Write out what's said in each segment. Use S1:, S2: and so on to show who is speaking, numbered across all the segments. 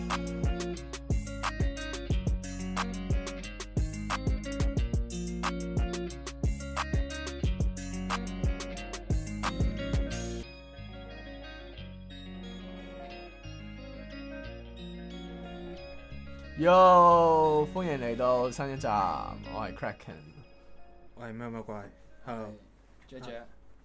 S1: Yo，歡迎嚟到新一集，我係 Kraken，
S2: 我係咩怪
S3: ，Hello，J，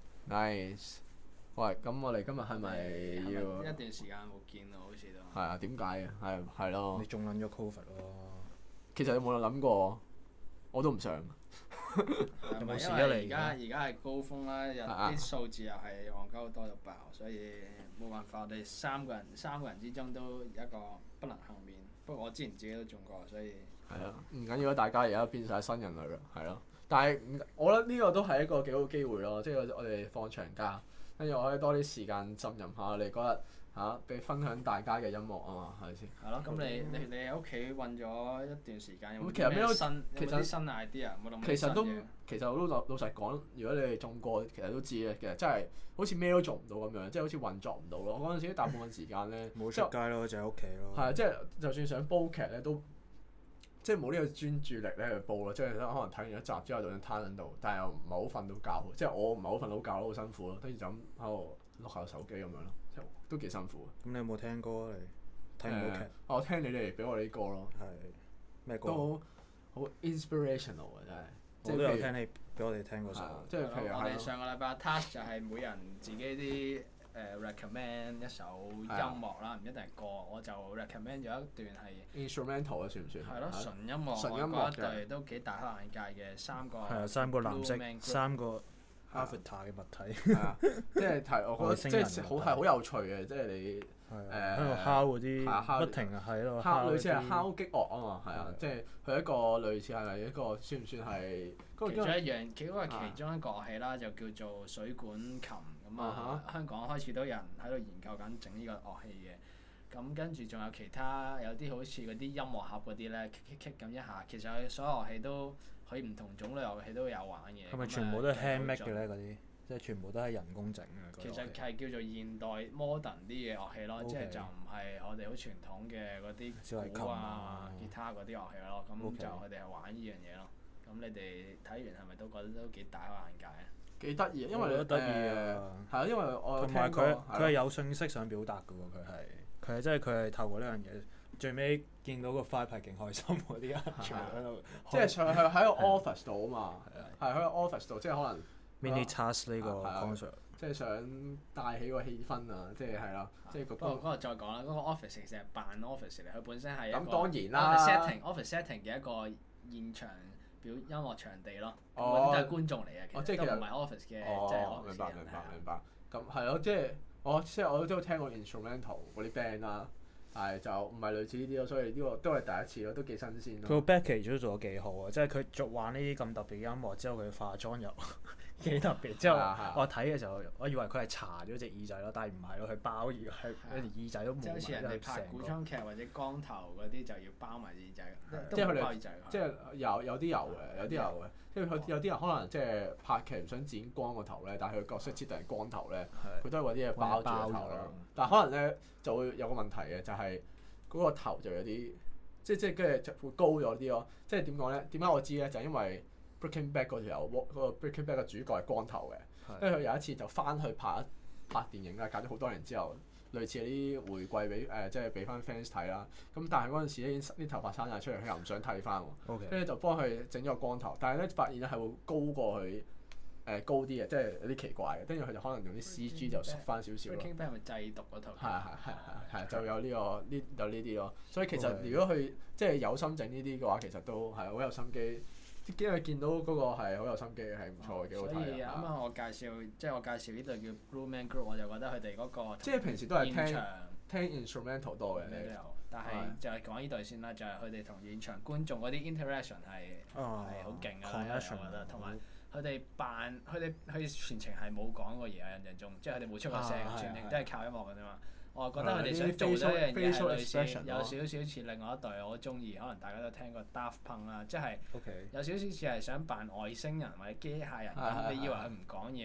S1: nice。喂，咁我哋今日係咪要
S3: 一段時間冇見咯？好似都
S1: 係啊？點解嘅？係咯。
S2: 你仲撚咗 Covid 咯？
S1: 其實有冇諗過？我都唔想。
S3: 有冇事啊？而家係高峰啦，啲數字又係戇鳩多到爆，所以冇辦法，我哋三個人之中都一個不能幸免。不過我之前自己都中過，所以
S1: 係啊，唔緊要，大家而家變晒新人類啦，係咯。但係我覺得呢個都係一個幾好機會咯，即係我哋放長假，跟住我可以多啲時間浸淫下我哋嗰日俾分享大家嘅音樂啊嘛，係咪先？
S3: 係咯，咁你喺屋企韞咗一段時間，有冇
S1: 其實咩都
S3: 有冇啲新 idea？冇諗
S1: 其實我都老實講，如果你哋中過，其實都知嘅，其實真係好似咩都做唔到咁樣，即係好似運作唔到咯。嗰陣時大部分時間咧
S2: 冇出街咯，就喺屋企咯。
S1: 係啊，即係就算想煲劇咧，都即係冇呢個專注力咧去煲咯。即係可能睇完一集之後就想攤喺度，但係又唔係好瞓到覺。即係我唔係好瞓到覺咯，好辛苦咯。跟住就咁喺度碌下手機咁樣咯，即係都幾辛苦。
S2: 咁你有冇聽歌啊？你睇唔到劇？
S1: 我聽你哋俾我哋啲歌咯。
S2: 係咩歌？
S1: 都好 inspirational 啊！真係。
S2: 我都有聽你俾我哋聽嗰首。
S1: 即係譬如
S3: 我哋上個禮拜 task 就係每人自己啲recommend 一首音樂啦，唔一定係歌，我就 recommend 咗一段係
S1: instrumental 啊，算唔算？
S3: 係咯，純音樂。
S1: 純音樂
S3: 我覺得一隊都幾大開眼界嘅三個。
S2: 係啊，三個藍色，三個 avatar 嘅物體。
S1: 係啊，即係我覺得即係好有趣嘅，即係你
S2: 喺度敲嗰啲，不停喺度
S1: 敲，類似係敲擊樂啊嘛，係啊，即係佢一個類似係一個算唔算係？
S3: 其中一樣，嗰個係其中一個樂器啦，就叫做水管琴咁啊。香港開始都有人喺度研究緊整呢個樂器嘅。咁跟住仲有其他有啲好似嗰啲音樂盒嗰啲咧，kick 咁一下，其實佢所有樂器都可以唔同種類樂器都有玩嘅。
S2: 係咪全部都係 handmade 嘅咧？嗰啲即係全部都係人工整嘅。
S3: 其實係叫做現代 modern 啲嘅樂器咯，即係就唔係我哋好傳統嘅嗰啲鼓啊、吉他嗰啲樂器咯。咁就佢哋係玩呢樣嘢咯。咁你哋睇完係咪都覺得都幾大開眼界啊？
S1: 幾得意，因為你
S2: 得意啊！
S1: 係啊，因為我
S2: 同埋佢係有信息想表達嘅喎，佢係透過呢樣嘢，最尾見到個 vibe 係勁開心嗰啲人全部喺度，
S1: 即係上去喺個 office 度啊嘛，係喺個 office 度，即係可能
S2: mini task 呢個 concept，即
S1: 係想帶起個氣氛啊，即係係啦，即係
S3: 不過嗰個再講啦，嗰個 office 其實係扮 office 嚟，佢本身係一個
S1: 咁當然啦
S3: office setting 嘅一個現場表音樂場地咯，嗰啲都係觀眾嚟嘅，其實都唔係 office 嘅，即係 office 嘅人。
S1: 明白。咁係咯，即係我都聽過 instrumental 嗰啲 band 啦，但係就唔係類似呢啲咯，所以呢個都係第一次咯，都幾新鮮咯。
S2: 佢個 backage 都做得幾好啊！即係佢玩呢啲咁特別嘅音樂之後，佢化妝又幾特別。之後我睇嘅時候，我以為佢係搽咗隻耳仔咯，但係唔係咯，佢包住係耳仔都冇。
S3: 即係好似人哋拍古裝劇或者光頭嗰啲就要包埋耳仔，
S1: 即係佢哋即係有啲有嘅，即係有啲人可能即係拍劇唔想剪光個頭咧，但係佢角色設定係光頭咧，佢都係揾啲嘢包住個頭咯。但係可能咧就會有個問題嘅，就係嗰個頭就有啲即係跟住就會高咗啲咯。即係點講咧？點解我知咧？就係因為 Breaking Bad 嗰條嗰個 Breaking Bad 嘅主角係光頭嘅，跟住佢有一次就翻去拍電影啦，隔咗好多年之後。類似啲回饋俾即係俾翻 fans 睇啦。咁但係嗰陣時咧，啲頭髮生晒出嚟，佢又唔想剃翻喎。跟住就幫佢整咗個光頭，但係咧發現咧係會高過佢高啲嘅，即係有啲奇怪嘅。跟住佢就可能用啲 CG 就縮翻少少咯。
S3: Breaking Bad 係咪製毒嗰套？
S1: 係就有呢啲咯。所以其實如果佢即係有心整呢啲嘅話，其實都係好有心機。因為見到嗰個係好有心機嘅，係唔錯嘅，幾好睇。
S3: 所以啱啱我介紹呢隊叫 Blue Man Group， 我就覺得佢哋嗰個
S1: 即係平時都係聽 instrumental 多嘅。
S3: 咩都有，但係就係講呢隊先啦，就係佢哋同現場觀眾嗰啲 interaction 係好勁㗎啦，我覺得。同埋佢哋全程係冇講過嘢啊，印象中，即係佢哋冇出過聲，全程都係靠音樂㗎啫嘛。我覺得佢哋想做咗一樣嘢係類似，有少少似另外一隊我好中意，可能大家都聽過 Daft Punk 啦，即係有少少似係想扮外星人或者機械人咁。你以為佢唔講嘢，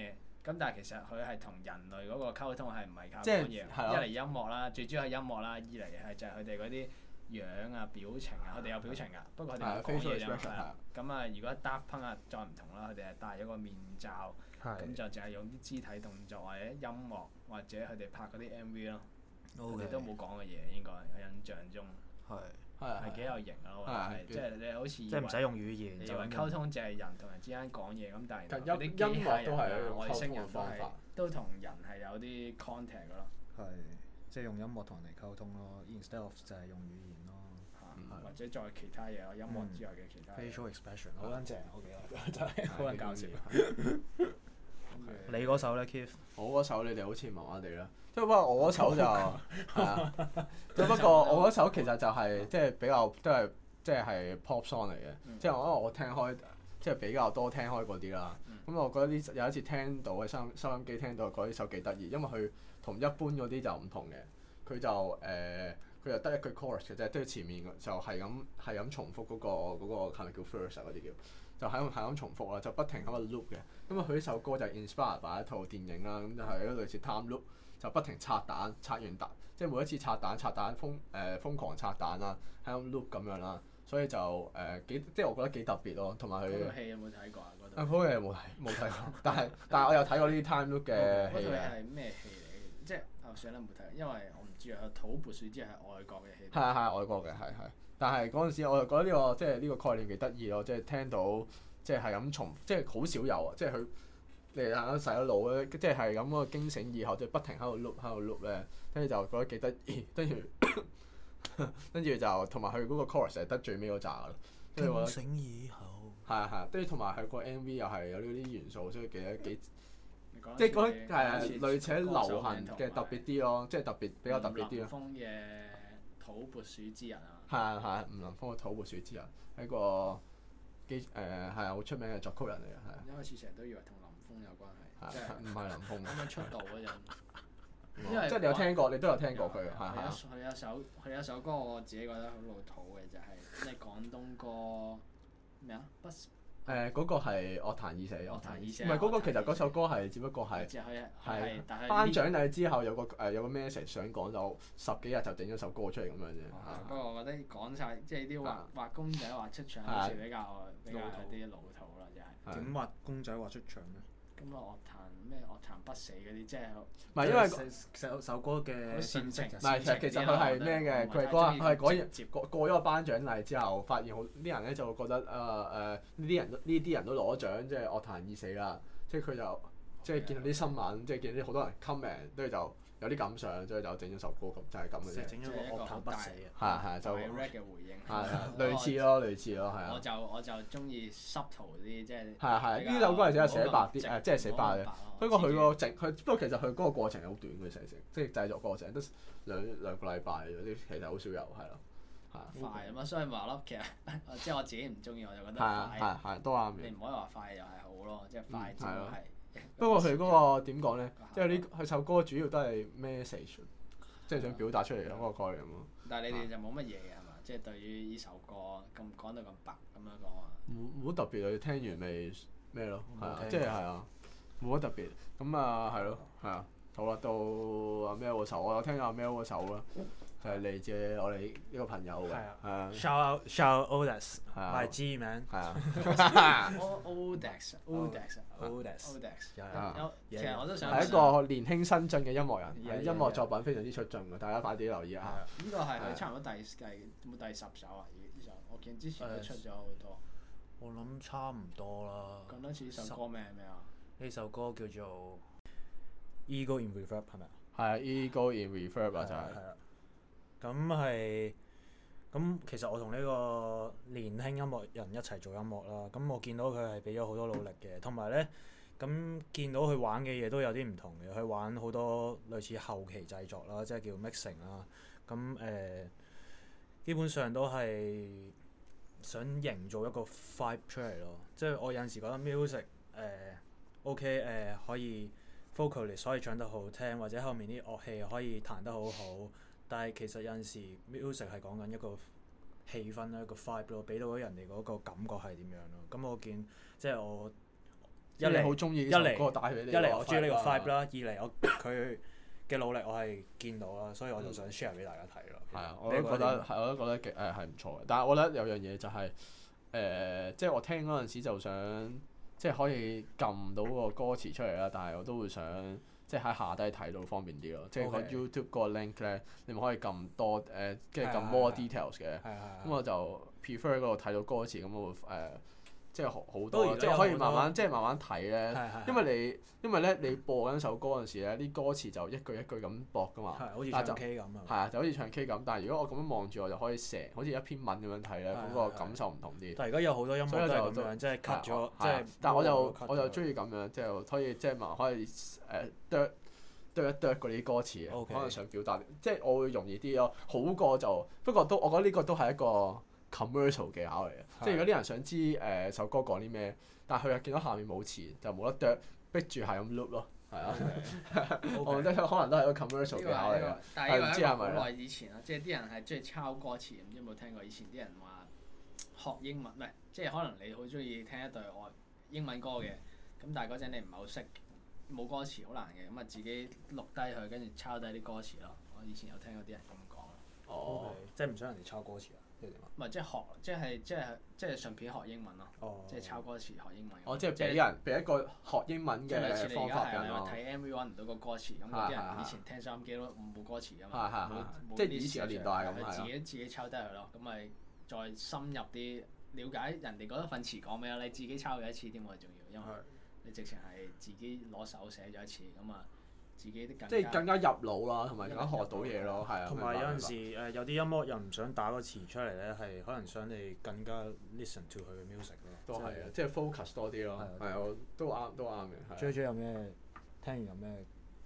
S3: 咁但係其實佢係同人類嗰個溝通係唔係靠
S1: 即
S3: 講嘢？
S1: 係
S3: 一嚟音樂啦，最主要係音樂啦；二嚟係就係佢哋嗰啲樣啊、表情啊，佢哋有表情㗎，不過佢哋冇講嘢啫嘛。咁啊，如果 Daft Punk 啊再唔同啦，佢哋係戴咗個面罩，咁就淨係用啲肢體動作或者音樂或者佢哋拍嗰啲 MV 咯。佢哋都冇講過嘢，應該我印象中係幾有型咯，即係你好似
S2: 即係唔使用語言，
S3: 你以為溝通就係人同人之間講嘢咁，但係
S1: 音樂都係
S3: 外星人都同人係有啲 contact 㗎咯。
S2: 係，即係用音樂同人哋溝通咯，instead of 就係用語言咯。
S3: 或者再其他嘢咯，音樂之外嘅其他。
S2: facial expression 好撚正，我記得真係好撚搞笑。你嗰首咧 Keith？
S1: 我嗰首你哋好似麻麻地啦，即係不過我嗰首就係啊，不過我嗰首其實就係即係比較都係即係 pop song 嚟嘅，即係因為我聽開即係比較多聽開嗰啲啦。咁我覺得呢有一次聽到喺收音機聽到，覺得呢首幾得意，因為佢同一般嗰啲就唔同嘅，佢就得一句 chorus 嘅啫，即係前面就係咁重複嗰個係咪叫 verse 嗰啲叫，就係咁重複啦，就不停喺度 loop 嘅。咁佢呢首歌就係 inspire by 一套電影啦，咁就係一個類似 time loop，就不停拆彈，拆完彈，即係每一次拆彈瘋狂拆彈啦，喺咁 loop 咁樣啦，所以就即係我覺得幾特別咯，同埋佢。
S3: 嗰套戲有冇睇過啊？
S1: 嗰套嘢冇睇過，但係我有睇過呢啲 time loop 嘅戲嘅。
S3: 嗰套戲係咩戲嚟？即係算啦，冇睇，因為我唔知啊。土撥鼠之係外國嘅戲。
S1: 係外國嘅係，但係嗰陣時我就覺得呢個即係呢個概念幾得意咯，即係聽到即係咁重，即係好少有啊，即係佢你洗咗腦咧，即係咁嗰個驚醒以後，即係不停喺度 loop 咧，跟住就覺得幾得意，跟住就同埋佢嗰個 chorus 係得最尾嗰扎咯。
S2: 驚醒以後。
S1: 係，跟住同埋佢個 MV 又係有呢啲元素，所以幾即係嗰啲類似流行嘅特別啲咯，即係比較特別啲咯。
S3: 吳林峰嘅土撥鼠之人啊。
S1: 係吳林峰嘅土撥鼠之人，係一個好出名嘅作曲人嚟嘅，係。
S3: 一開始成日都以為同林峰有關係，即係
S1: 唔係林峰。
S3: 啱啱出道嗰陣。
S1: 即係你有聽過，你都有聽過佢，
S3: 佢有首歌我自己覺得好老土嘅，就係咩廣東歌咩啊？
S1: 嗰個係樂壇已死。
S3: 樂壇已死。
S1: 唔係嗰個，其實嗰首歌係只不過係頒獎禮之後有個 message 想講，就10幾日就整咗首歌出嚟咁樣啫。
S3: 不過我覺得講晒即係啲畫公仔畫出腸好似比較有啲老土啦，真係。
S2: 點畫公仔畫出腸咧？
S3: 咁樂壇不死嗰啲，即係
S1: 唔係因為
S2: 首歌嘅信息。
S1: 唔係其實佢係咩嘅？佢係嗰日過咗個頒獎禮之後，發現好啲人咧就會覺得呢啲人都攞獎，即係樂壇已死啦。即係佢就即係見到啲新聞，即係見到啲好多人 comment，跟住就有啲感想，所以就整咗首歌咁，就係咁嘅啫。
S2: 整咗個樂壇不死啊！
S1: 係就
S3: rap 嘅回應。
S1: 類似咯，係啊。
S3: 我就中意 subtle 啲，即係。
S1: 係呢首歌係真係寫白啲，即係寫白嘅。不過不過其實佢嗰個過程係好短嘅，成即係製作過程得兩個禮拜嗰啲，其實好少有係咯。
S3: 快啊嘛，所以話咯，其實即係我自己唔中意，我就覺得快。
S1: 係都啱嘅。
S3: 你唔可以話快又係好咯，即係快之係。
S1: 不過佢嗰個點講咧？即係佢首歌主要都係 message，即係想表達出嚟嗰個概念咯。
S3: 但係你哋就冇乜嘢嘅係嘛？即係對於呢首歌咁講到咁白咁樣講話。
S1: 冇特別啊！你聽完咪咩咯？係啊，即係冇乜特別。咁係咯，係啊。好啦，到阿 Mel 嗰首，我有聽阿 Mel 嗰首啦，就係嚟自我哋呢個朋友嘅。係啊。
S2: Shout out Odex，my G man。
S1: 係啊。
S3: Odex。其實我都想。
S1: 係一個年輕新進嘅音樂人，喺音樂作品非常之出眾嘅，大家快啲留意下。
S3: 呢個係佢差唔多第10首啊！呢首我見之前都出咗好多。
S2: 我諗差唔多啦。
S3: 講多次呢首歌名係咩啊？
S2: 呢首歌叫做 Ego in Reverb 係咪啊？
S1: 係啊 ，Ego in Reverb 啊，就係。
S2: 係啦。咁其實我同呢個年輕音樂人一齊做音樂啦。咁我見到佢係俾咗好多努力嘅，同埋咧，咁見到佢玩嘅嘢都有啲唔同嘅。佢玩好多類似後期製作啦，即係叫 mixing 啦。咁基本上都係想營造一個 vibe 出嚟咯。即係我有陣時覺得 music OK 可以 vocalist 可以唱得好聽，或者後面啲樂器可以彈得好好。但係其實有陣時 music 係講緊一個氣氛啦，一個 vibe 咯，俾到人哋嗰個感覺係點樣咯。咁我見即係我一嚟
S1: 好中意呢首歌帶俾你。
S2: 一嚟我中意呢個 vibe 啦，二嚟佢嘅努力我係見到啦，所以我就想 share 俾大家睇咯。
S1: 係啊，我都覺得極係唔錯嘅。但係我覺得有樣嘢就係即係我聽嗰陣時就想即係可以撳到個歌詞出嚟啦，但係我都會想即係喺下低睇到方便啲咯。即係個 YouTube 嗰個 link 咧，你咪可以撳多跟住撳 more details 嘅。咁我就 prefer 嗰度睇到歌詞，咁我會即係好多，即係可以慢慢睇咧。因為咧你播緊首歌嗰陣時咧，啲歌詞就一句一句咁播㗎嘛。
S2: 好似唱 K 咁啊。
S1: 係啊，就好似唱 K 咁，但係如果我咁樣望住，我就可以好似一篇文咁樣睇咧，咁個感受唔同啲。
S2: 但係而家有好多音樂都係咁樣，即係 cut 咗，即係。
S1: 但係我就中意咁樣，即係可以即係可以啄一啄嗰啲歌詞，可能想表達，即係我會容易啲咯。好過就不過我覺得呢個都係一個 commercial 技巧嚟嘅，即係如果啲人想知首歌講啲咩，但係佢又見到下面冇詞，就冇得啄，逼住係咁 loop 咯，係啊。我覺得可能都係一個 commercial 技巧嚟嘅。
S3: 但係呢個係好耐以前啦，即係啲人係中意抄歌詞，唔知有冇聽過？以前啲人話學英文，唔係即係可能你好中意聽一隊英文歌嘅，咁但係嗰陣你唔係好識，冇歌詞好難嘅，咁啊自己錄低佢，跟住抄低啲歌詞咯。我以前有聽過啲人咁講。
S2: 哦，即係唔想人哋抄歌詞啊？
S3: 唔係即係學，即係順便學英文咯。即係抄歌詞學英文。
S1: 即係俾一個學英文嘅方法人咯。
S3: 睇 MV 揾唔到個歌詞，咁有啲人以前聽收音機都冇歌詞㗎嘛。
S1: 即係以前嘅年代係咁。
S3: 自己抄低佢咯，咁咪再深入啲了解人哋嗰份詞講咩咯？你自己抄咗一次添喎，仲要，因為你直情係自己攞手寫咗一次，咁啊自己即
S1: 係更加入腦啦，同埋更加學到嘢咯，係啊。
S2: 同埋有陣時有啲音樂又唔想打個詞出嚟咧，係可能想你更加 listen to 佢嘅 music 咯。
S1: 都係啊，即係 focus 多啲咯。係啊，都啱嘅。
S2: JJ 有咩聽完有咩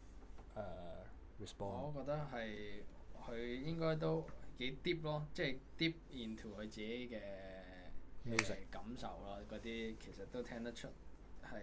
S2: response？
S3: 我覺得係佢應該都幾 deep 咯，即係 deep into 佢自己嘅感受咯。嗰啲其實都聽得出係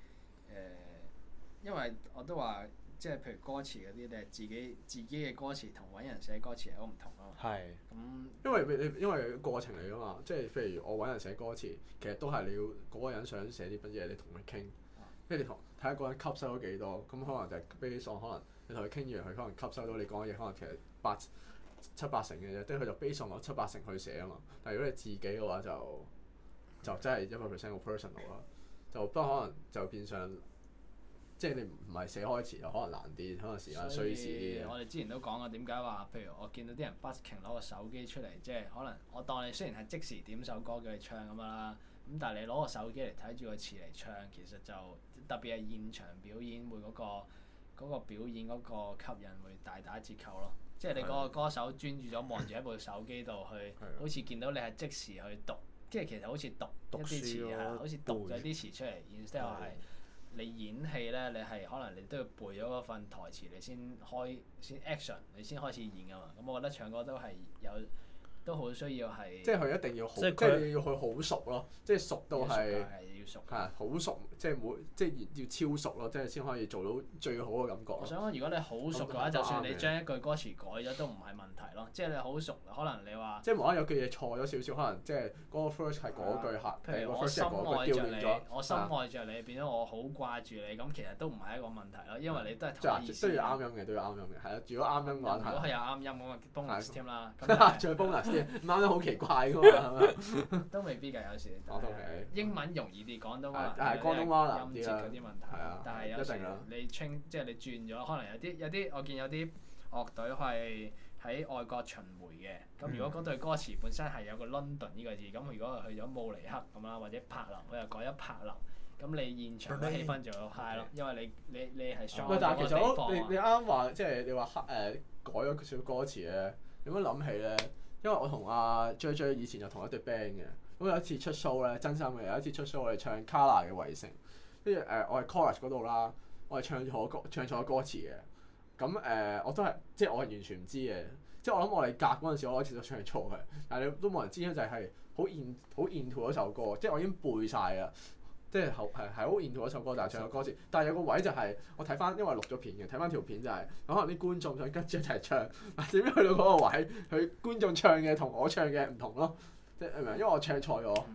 S3: 因為我都話。即係譬如歌詞嗰啲，你係自己嘅歌詞同揾人寫歌詞係好唔同咯。
S2: 係。
S1: 咁因為過程嚟㗎嘛，即係譬如我揾人寫歌詞，其實都係你要嗰個人想寫啲乜嘢，你同佢傾，跟住你睇下嗰人吸收咗幾多，咁可能就係 based on 可能你同佢傾完，佢可能吸收到你講嘅嘢，可能其實七八成嘅啫，即係佢就 based on 7-8成去寫啊嘛。但係如果你自己嘅話就真係100% 個 personal 啦，就不過可能就變相。即係你唔係寫開詞就可能難啲，可能時間需時啲。
S3: 我哋之前都講過點解話，譬如我見到啲人 busking 攞個手機出嚟，即係可能我當你雖然係即時點首歌叫你唱咁樣啦，咁但係你攞個手機嚟睇住個詞嚟唱，其實就特別係現場表演會嗰個表演嗰個吸引會大打折扣咯。即係你嗰個歌手專注咗望住一部手機度去，好似見到你係即時去讀，即係其實好似讀一啲詞係，好似讀咗啲詞出嚟，然之後係。你演戲咧，你係可能你都要背咗嗰份台詞，你先 action， 你先開始演㗎嘛。咁我覺得唱歌都好需要係。即係
S1: 佢一定要好，即係你要佢好熟咯，即係熟到係。
S3: 要熟。
S1: 係好熟，即係要超熟咯，即係先可以做到最好嘅感覺。
S3: 我想講，如果你好熟嘅話，就算你將一句歌詞改咗都唔係問題咯。即係你好熟，可能你話。
S1: 即係無啦啦有句嘢錯咗少少，可能即係嗰個 first 係嗰句客，
S3: 譬如我心愛着你，我心愛着你，變咗我好掛住你，咁其實都唔係一個問題咯，因為你都係同意思。
S1: 都要啱音嘅，都要啱音嘅，係啊。如果啱音嘅話，
S3: 如果係有啱音咁啊，bonus 添啦。
S1: 仲有 bonus 添，唔啱音好奇怪㗎嘛。
S3: 都未必㗎，有時。英文容易啲，廣東話。
S1: 廣東話難
S3: 啲啦，音節嗰啲問題，但係有時你即係你轉咗，可能有啲我見有啲樂隊係喺外國巡迴嘅，咁如果嗰隊歌詞本身係有個 London 呢個字，咁如果去咗慕尼黑咁啦，或者柏林，佢又改咗柏林，咁你現場嘅氣氛就 high 咯，因為你係 show
S1: 但係其實你啱話即係你話改咗少歌詞咧，有乜諗起咧？因為我同阿 JJ 以前就同一隊 band 嘅。咁有一次出 show 咧，真心嘅有一次出 show 我哋唱 Kala 嘅圍城，跟住我係 chorus 嗰度啦，我係唱錯歌詞嘅，咁我都係即係我係完全唔知嘅，即係我諗我哋夾嗰陣時我開始都唱錯嘅，但係你都冇人知咧，就係好 into 嗰首歌，即係我已經背曬㗎，即係好 into 嗰首歌，但係唱錯歌詞，但係有個位就係我睇翻，因為錄咗片嘅，睇翻條片就係可能啲觀眾想跟住一齊唱，但點解去到嗰個位，佢觀眾唱嘅同我唱嘅唔同咯？即係因為我唱錯咗，係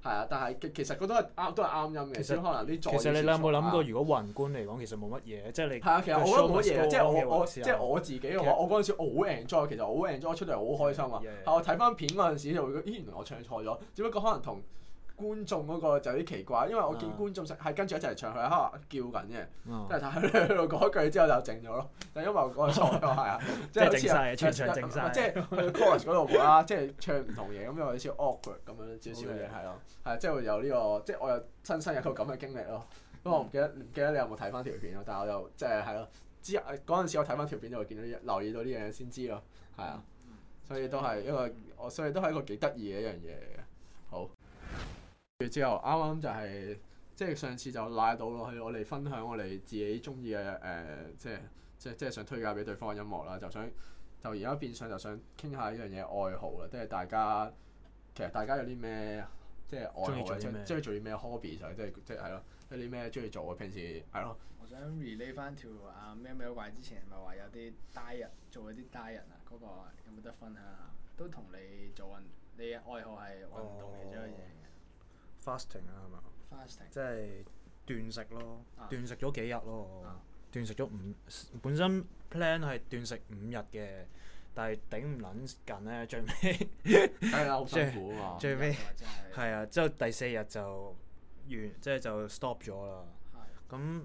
S1: 係啊，但係其實佢都係啱音嘅，只可能啲
S2: 其實你有冇諗過，如果宏觀嚟講，其實冇乜嘢，即係你
S1: 係啊，其實我覺得冇乜嘢，即係我自己嘅話，我嗰陣時我好 enjoy，其實我好 enjoy 出嚟好開心啊！係我睇翻片嗰陣時就會覺得，咦原來我唱錯咗，只不過可能同觀眾嗰個就有啲奇怪，因為我見觀眾係跟住一齊唱，佢喺度叫緊嘅，即係睇佢喺度講一句之後就靜咗咯。但因為我講錯咗，係啊，即係好似
S2: 全場靜晒，
S1: 即係去 chorus 嗰度啦，即係唱唔同嘢咁，有少少 awkward 咁樣少少嘢係咯，係即係會有呢個，即係我有親身有個咁嘅經歷咯。不過我唔記得你有冇睇翻條片咯，但係我就即係係咯，嗰陣時我睇翻條片就會見到留意到呢樣嘢先知咯，係啊，所以都係一個幾得意嘅一樣嘢嚟嘅。好。之後啱啱就係即係上次就拉到落去，我哋分享我哋自己中意嘅即係想推介俾對方嘅音樂啦，就而家變相就想傾下呢樣嘢愛好啦，即係其實大家有啲咩即係愛好咧，即係做啲咩 hobby 就即係係咯，有啲咩中意做啊？平時係咯。
S3: 我想 relate 翻條喵喵怪之前咪話有啲 diet 做嗰啲 diet 啊，嗰個有冇得分享下？都同你做運，你嘅愛好係運動其中一樣嘢。
S2: fasting 啊係嘛？
S3: fasting
S2: 即係斷食咯，斷食咗幾日咯，斷食咗本身 plan 係斷食5日嘅，但係頂唔撚緊咧，最尾
S1: 係啊，好辛苦啊嘛，
S2: 最尾係啊，之後第4日就完，即係就 stop 咗啦。咁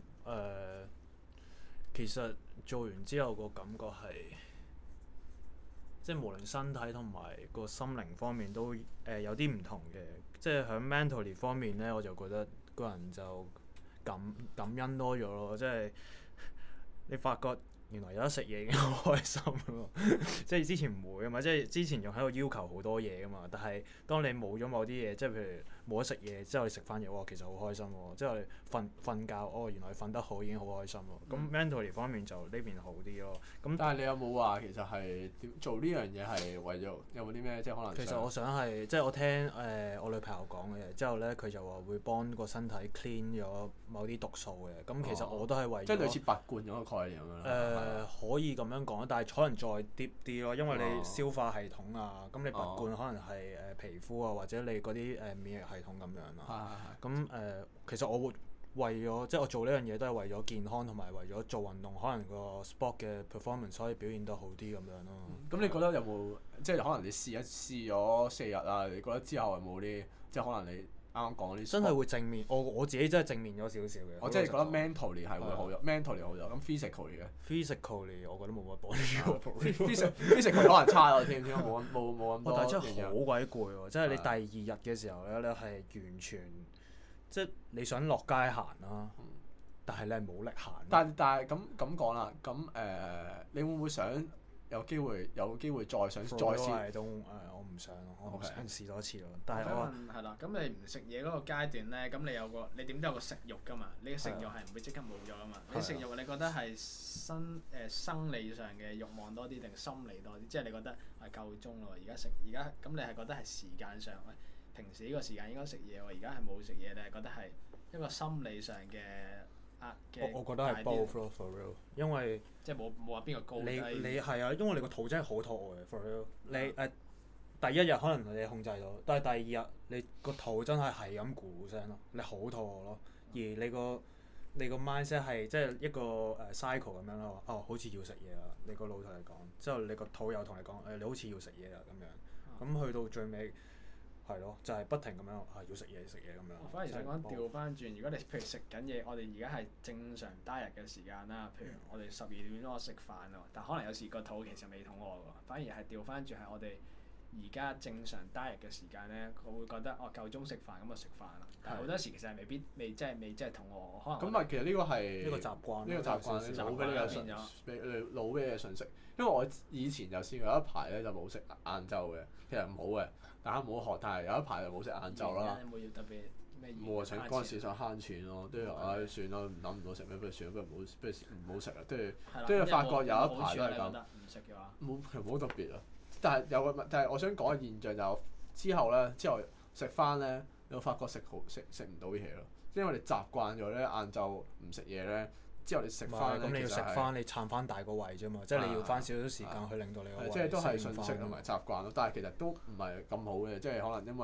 S2: 其實做完之後個感覺係，即係無論身體同埋個心靈方面都有啲唔同嘅。即係喺 mentally 方面咧，我就覺得個人就感恩多咗咯。即係你發覺原來有得食嘢已經好開心咯。即係之前唔會啊嘛，即係之前仲喺度要求好多嘢噶嘛。但係當你冇咗某啲嘢，即係譬如冇得食嘢之後，你食翻嘢，哇，其實好開心喎。之後你瞓覺，哦，原來你瞓得好已經好開心喎。咁 mentally 方面就呢邊好啲咯。咁
S1: 但係你有冇話其實係做呢樣嘢係為咗有冇啲咩即係可能？
S2: 其實我想係即係我聽我女朋友講嘅，之後咧佢就話會幫個身體 clean 咗某啲毒素嘅。咁其實我都係為咗
S1: 即係類似拔罐嗰個概念咁樣。
S2: 可以咁樣講，但係可能再 deep 啲咯，因為你消化系統啊，咁你拔罐可能係皮膚啊，或者你嗰啲免疫系統咁樣啦。咁其實我會為咗即係我做呢樣嘢都係為咗健康同埋為咗做運動，可能個 sport 嘅 performance 可以表現得好啲咁樣咯。
S1: 咁你覺得有冇即係可能你試咗4日啊？你覺得之後有冇啲即係可能你啱啱講嗰啲
S2: 真係會正面？我自己真係正面咗少少嘅。
S1: 我即係覺得 mentally 係會好咗，mentally 好咗。咁 physically 嘅
S2: physically 我覺得冇乜幫助。
S1: physically 可能差咗添，冇咁多。
S2: 但係真係好鬼攰喎！即係你第2日嘅時候咧，你係完全即係你想落街行啦，但係你係冇力行。
S1: 但係咁講啦，咁你會唔會想有機會再試？
S2: 我唔想咯，我想試多次咯。但係我
S3: 係啦，咁你唔食嘢嗰個階段咧，咁你點都有個食慾㗎嘛？你嘅食慾係唔會即刻冇咗㗎嘛？你食慾你覺得係生理上嘅慾望多啲定心理多啲？即係你覺得係夠鐘咯，而家咁你係覺得係時間上喂，平時呢個時間應該食嘢喎，而家係冇食嘢，你係覺得係一個心理上嘅壓嘅？
S2: 我覺得係 both 咯 for real， 因為
S3: 即係冇話邊個高低。
S2: 你係啊，因為你個肚真係好肚餓嘅 for real。你第1日可能你控制到，但係第2日你個肚真係咁咕聲咯，你好肚餓咯，而你個 mindset 係即係一個cycle 咁樣咯。哦，好似要食嘢啦，你個腦同你講，之後你個肚又同你講你好似要食嘢啦咁樣。咁去到最尾係咯，就係不停咁樣要食嘢咁樣。
S3: 我反而想講調翻轉，如果你譬如食緊嘢，我哋而家係正常 diet 嘅時間啦。譬如我哋12點鐘食飯喎，但可能有時個肚其實未肚餓喎，反而係調翻轉係我哋而家正常 diet 嘅時間咧，佢會覺得夠鐘食飯咁就食飯啦。但係好多時其實係未真係肚餓，可能。
S1: 咁其實呢個係
S2: 呢個習慣，
S1: 呢個習慣腦俾你嘅信息，腦俾你嘅信息。因為我以前就試過有一排咧就冇食晏晝嘅，其實唔好嘅，大家唔好學。但係有一排就冇食晏晝啦。
S3: 有冇要特別咩？
S1: 冇啊！嗰陣時想慳錢咯，跟住算啦，諗唔到食咩，不如算啦，不如唔好食啦。跟住發覺有一排都係咁。
S3: 唔食嘅話。
S1: 冇特別啊！但係我想講嘅現象就之後食翻咧，你會發覺食唔到嘢咯，因為你習慣咗咧晏晝唔食嘢咧，之後你食翻咧，
S2: 咁你要食翻，你撐翻大個胃啫嘛，即係你要翻少少時間去令到你個胃。
S1: 即係都係信息同埋習慣咯，但係其實都唔係咁好嘅，即係可能因為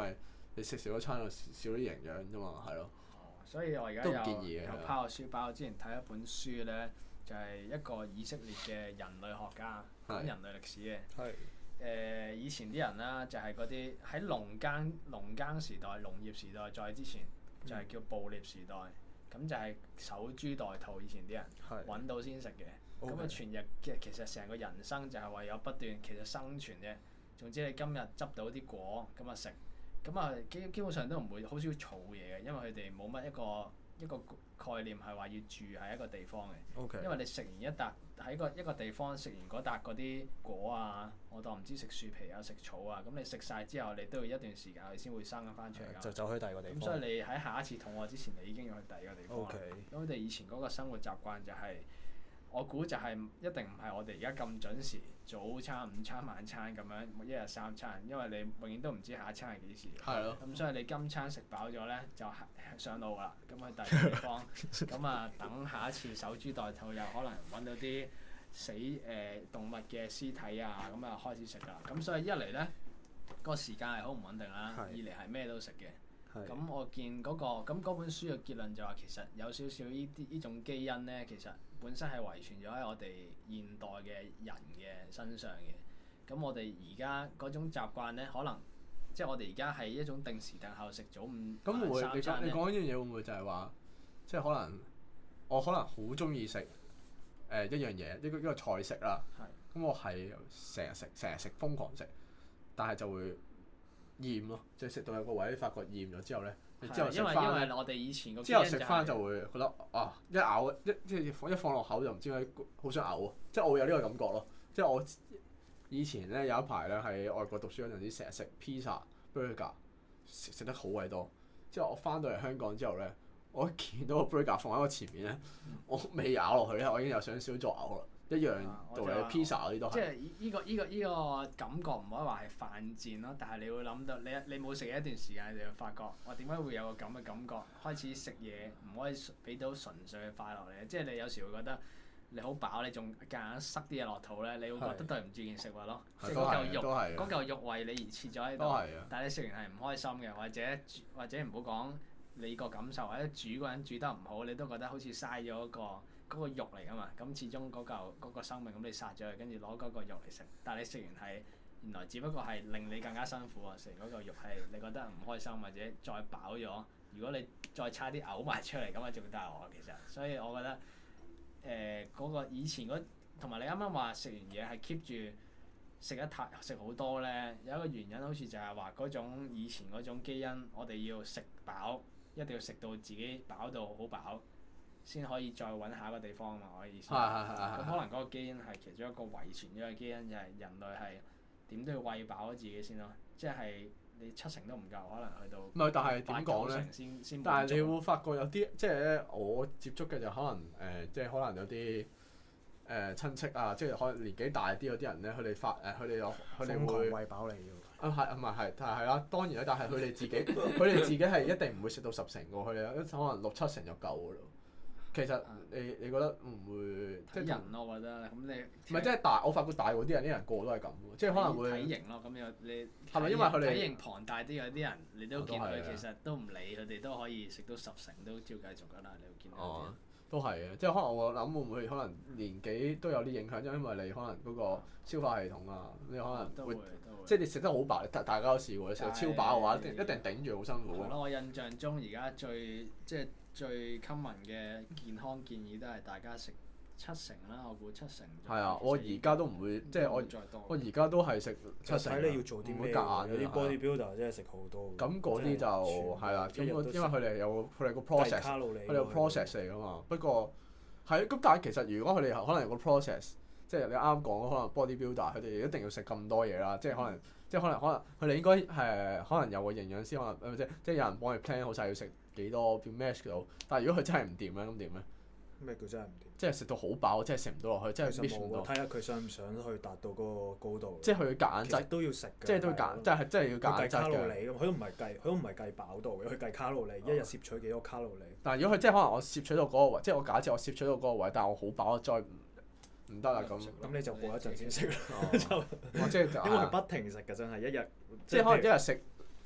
S1: 你食少一餐就少啲營養啫嘛，係咯。
S3: 所以我而家
S1: 都唔建議嘅
S3: 有拋個書包，之前睇一本書咧，就係一個以色列嘅人類學家講人類歷史嘅。以前啲人啦，就係嗰啲喺農耕時代、農業時代再之前，就係叫捕獵時代。咁就係守株待兔，以前啲人揾到先食嘅。咁啊，全日其實成個人生就係為咗不斷其實生存啫。總之你今日執到啲果咁啊食，咁啊基本上都唔會好少儲嘢嘅，因為佢哋冇乜一個概念係話要住喺一個地方嘅。
S2: Okay.
S3: 因為你食完一笪喺一個地方食完嗰笪嗰啲果啊，我當唔知食樹皮啊食草啊，咁你食晒之後，你都要一段時間佢先會生翻出嚟㗎。
S2: 就走去第二個地方。
S3: 咁所以你喺下一次肚餓之前，你已經要去第二個地方。
S2: Okay.
S3: 咁佢哋以前嗰個生活習慣就係、我估就係一定唔係我哋而家咁準時早餐、午餐、晚餐咁樣一日三餐，因為你永遠都唔知下一餐係幾時。
S1: 係咯。
S3: 咁所以你今餐食飽咗咧，就上路啦。咁去第二個地方，咁啊等下一次守株待兔，又可能揾到啲死動物嘅屍體啊，咁啊開始食㗎啦。咁所以一嚟咧，個時間係好唔穩定啦；二嚟係咩都食嘅。咁我見嗰本書嘅結論就話其實有少少呢種基因咧，其實本身係遺傳咗喺我哋現代嘅人嘅身上嘅。咁我哋而家嗰種習慣咧，可能即係我哋而家係一種定時定候食早午晚三餐咧。
S1: 你講呢樣嘢會唔會就係話，即係可能我好中意食一樣嘢，一個菜式啦。咁我係成日食瘋狂食，但係就會厭咯，即係食到有個位發覺厭咗之後咧，你之後食翻咧，
S3: 因為我哋以前個
S1: 之後食翻就會覺得一咬即係一放落口就唔知點解好想嘔，即係我會有呢個感覺咯。即係我以前咧有一排咧喺外國讀書嗰陣時，成日食 pizza burger 食得好鬼多。之後我翻到嚟香港之後咧，我一見到個 burger 放喺我前面咧，我未咬落去咧，我已經有想少咗嘔啦。一樣道理，pizza 嗰啲都係。
S3: 即係依個感覺唔可以話係犯賤咯，但係你會諗到你冇食一段時間，你就會發覺我點解會有個咁嘅感覺？開始食嘢唔可以俾到純粹嘅快樂你，即係你有時會覺得你好飽，你仲夾硬塞啲嘢落肚咧，你會覺得對唔住件食物咯。即係嗰嚿肉為你而設咗喺度，但係你食完係唔開心嘅，或者唔好講你個感受，或者煮嗰人煮得唔好，你都覺得好似嘥咗嗰個肉嚟㗎嘛，咁始終嗰個生命咁你殺咗佢，跟住攞嗰個肉嚟食，但係你食完係原來只不過係令你更加辛苦啊！食嗰個肉係你覺得唔開心，或者再飽咗，如果你再差啲嘔埋出嚟咁啊，仲大鑊其實。所以我覺得嗰個以前同埋你啱啱話食完嘢係 keep 住食好多咧，有一個原因好似就係話嗰種以前嗰種基因，我哋要食飽，一定要食到自己飽到好飽。先可以再揾下一個地方啊嘛，我嘅意思。咁可能嗰個基因係其中一個遺傳咗嘅基因，就係人類係點都要餵飽咗自己先咯。即係你70都唔夠，可能去到
S1: 唔係，但係點講咧？但係你會發覺有啲即係咧，我接觸嘅就可能即係可能有啲親戚啊，即係可能年紀大啲嗰啲人咧，佢哋會
S2: 餵飽你㗎。
S1: 但係啦，當然啦，但係佢哋自己係一定唔會食到10成㗎，佢哋可能6、7成就夠㗎咯。其實你覺得唔會
S3: 即係人咯，我覺得咁你
S1: 唔係即係大，我發覺大嗰啲人個個都係咁喎，即係可能會
S3: 體型咯。咁有你
S1: 係咪因為佢哋
S3: 體型龐大啲嗰啲人，你都見佢其實都唔理佢哋都可以食到10成都照繼續㗎啦。你會見到啲人
S1: 都係嘅，即係可能我諗會唔會可能年紀都有啲影響，因為你可能嗰個消化系統啊，你可能會即係你食得好飽，大家都試過，你食到超飽嘅話，一定頂住好辛苦。
S3: 係咯，我印象中而家最 common 嘅健康建議都係大家食7成啦，我估7成。
S1: 係啊，我而家都唔會，即係我而家都係食7成。
S2: 睇你要做啲咩？有啲 bodybuilder 真係食好多。
S1: 咁嗰啲就係啦，因為佢哋個 process，佢哋個 process 嚟㗎嘛。不過係咁，但係其實如果佢哋可能有個 process，即係你啱啱講可能 bodybuilder 佢哋一定要食咁多嘢啦，即係可能佢哋應該可能有個營養師，可能即係有人幫佢 plan 好晒要食幾多要 match 到，但係如果佢真係唔掂咧，咁點咧？
S2: 咩叫真係唔掂？
S1: 即係食到好飽，即係食唔到落去，即係 match 唔到。
S2: 睇下佢想唔想去達到嗰個高度。
S1: 即係佢夾硬
S2: 其實都要食嘅。
S1: 即係都夾，即係要夾硬
S2: 計卡路里㗎，佢都唔係計飽度嘅，佢計卡路里，一日攝取幾多卡路里。
S1: 但係如果佢即係可能我攝取到嗰個位，即係我假設我攝取到嗰個位，但係我好飽，再唔得啦咁。
S2: 咁你就過一陣先食啦。
S1: 即係
S2: 因為佢不停食㗎，真係一日。
S1: 即係可能一日食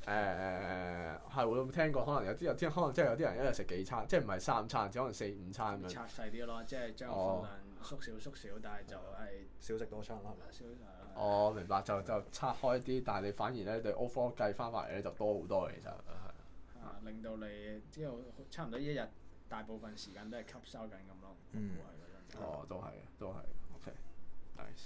S1: 係我有冇聽過？可能有啲可能即係有啲人一日食幾餐，即係唔係3餐，只可能4、5餐咁樣。
S3: 拆細啲咯，即係將個分量縮小，但係就係
S2: 少食多餐啦，係咪？
S3: 少
S1: 哦，明白，就拆開啲，但係你反而咧對 overall 計翻埋嚟咧就多好多嘅其實。
S3: 令到你之後差唔多一日大部分時間都係吸收緊咁咯。
S1: 都係 OK，nice。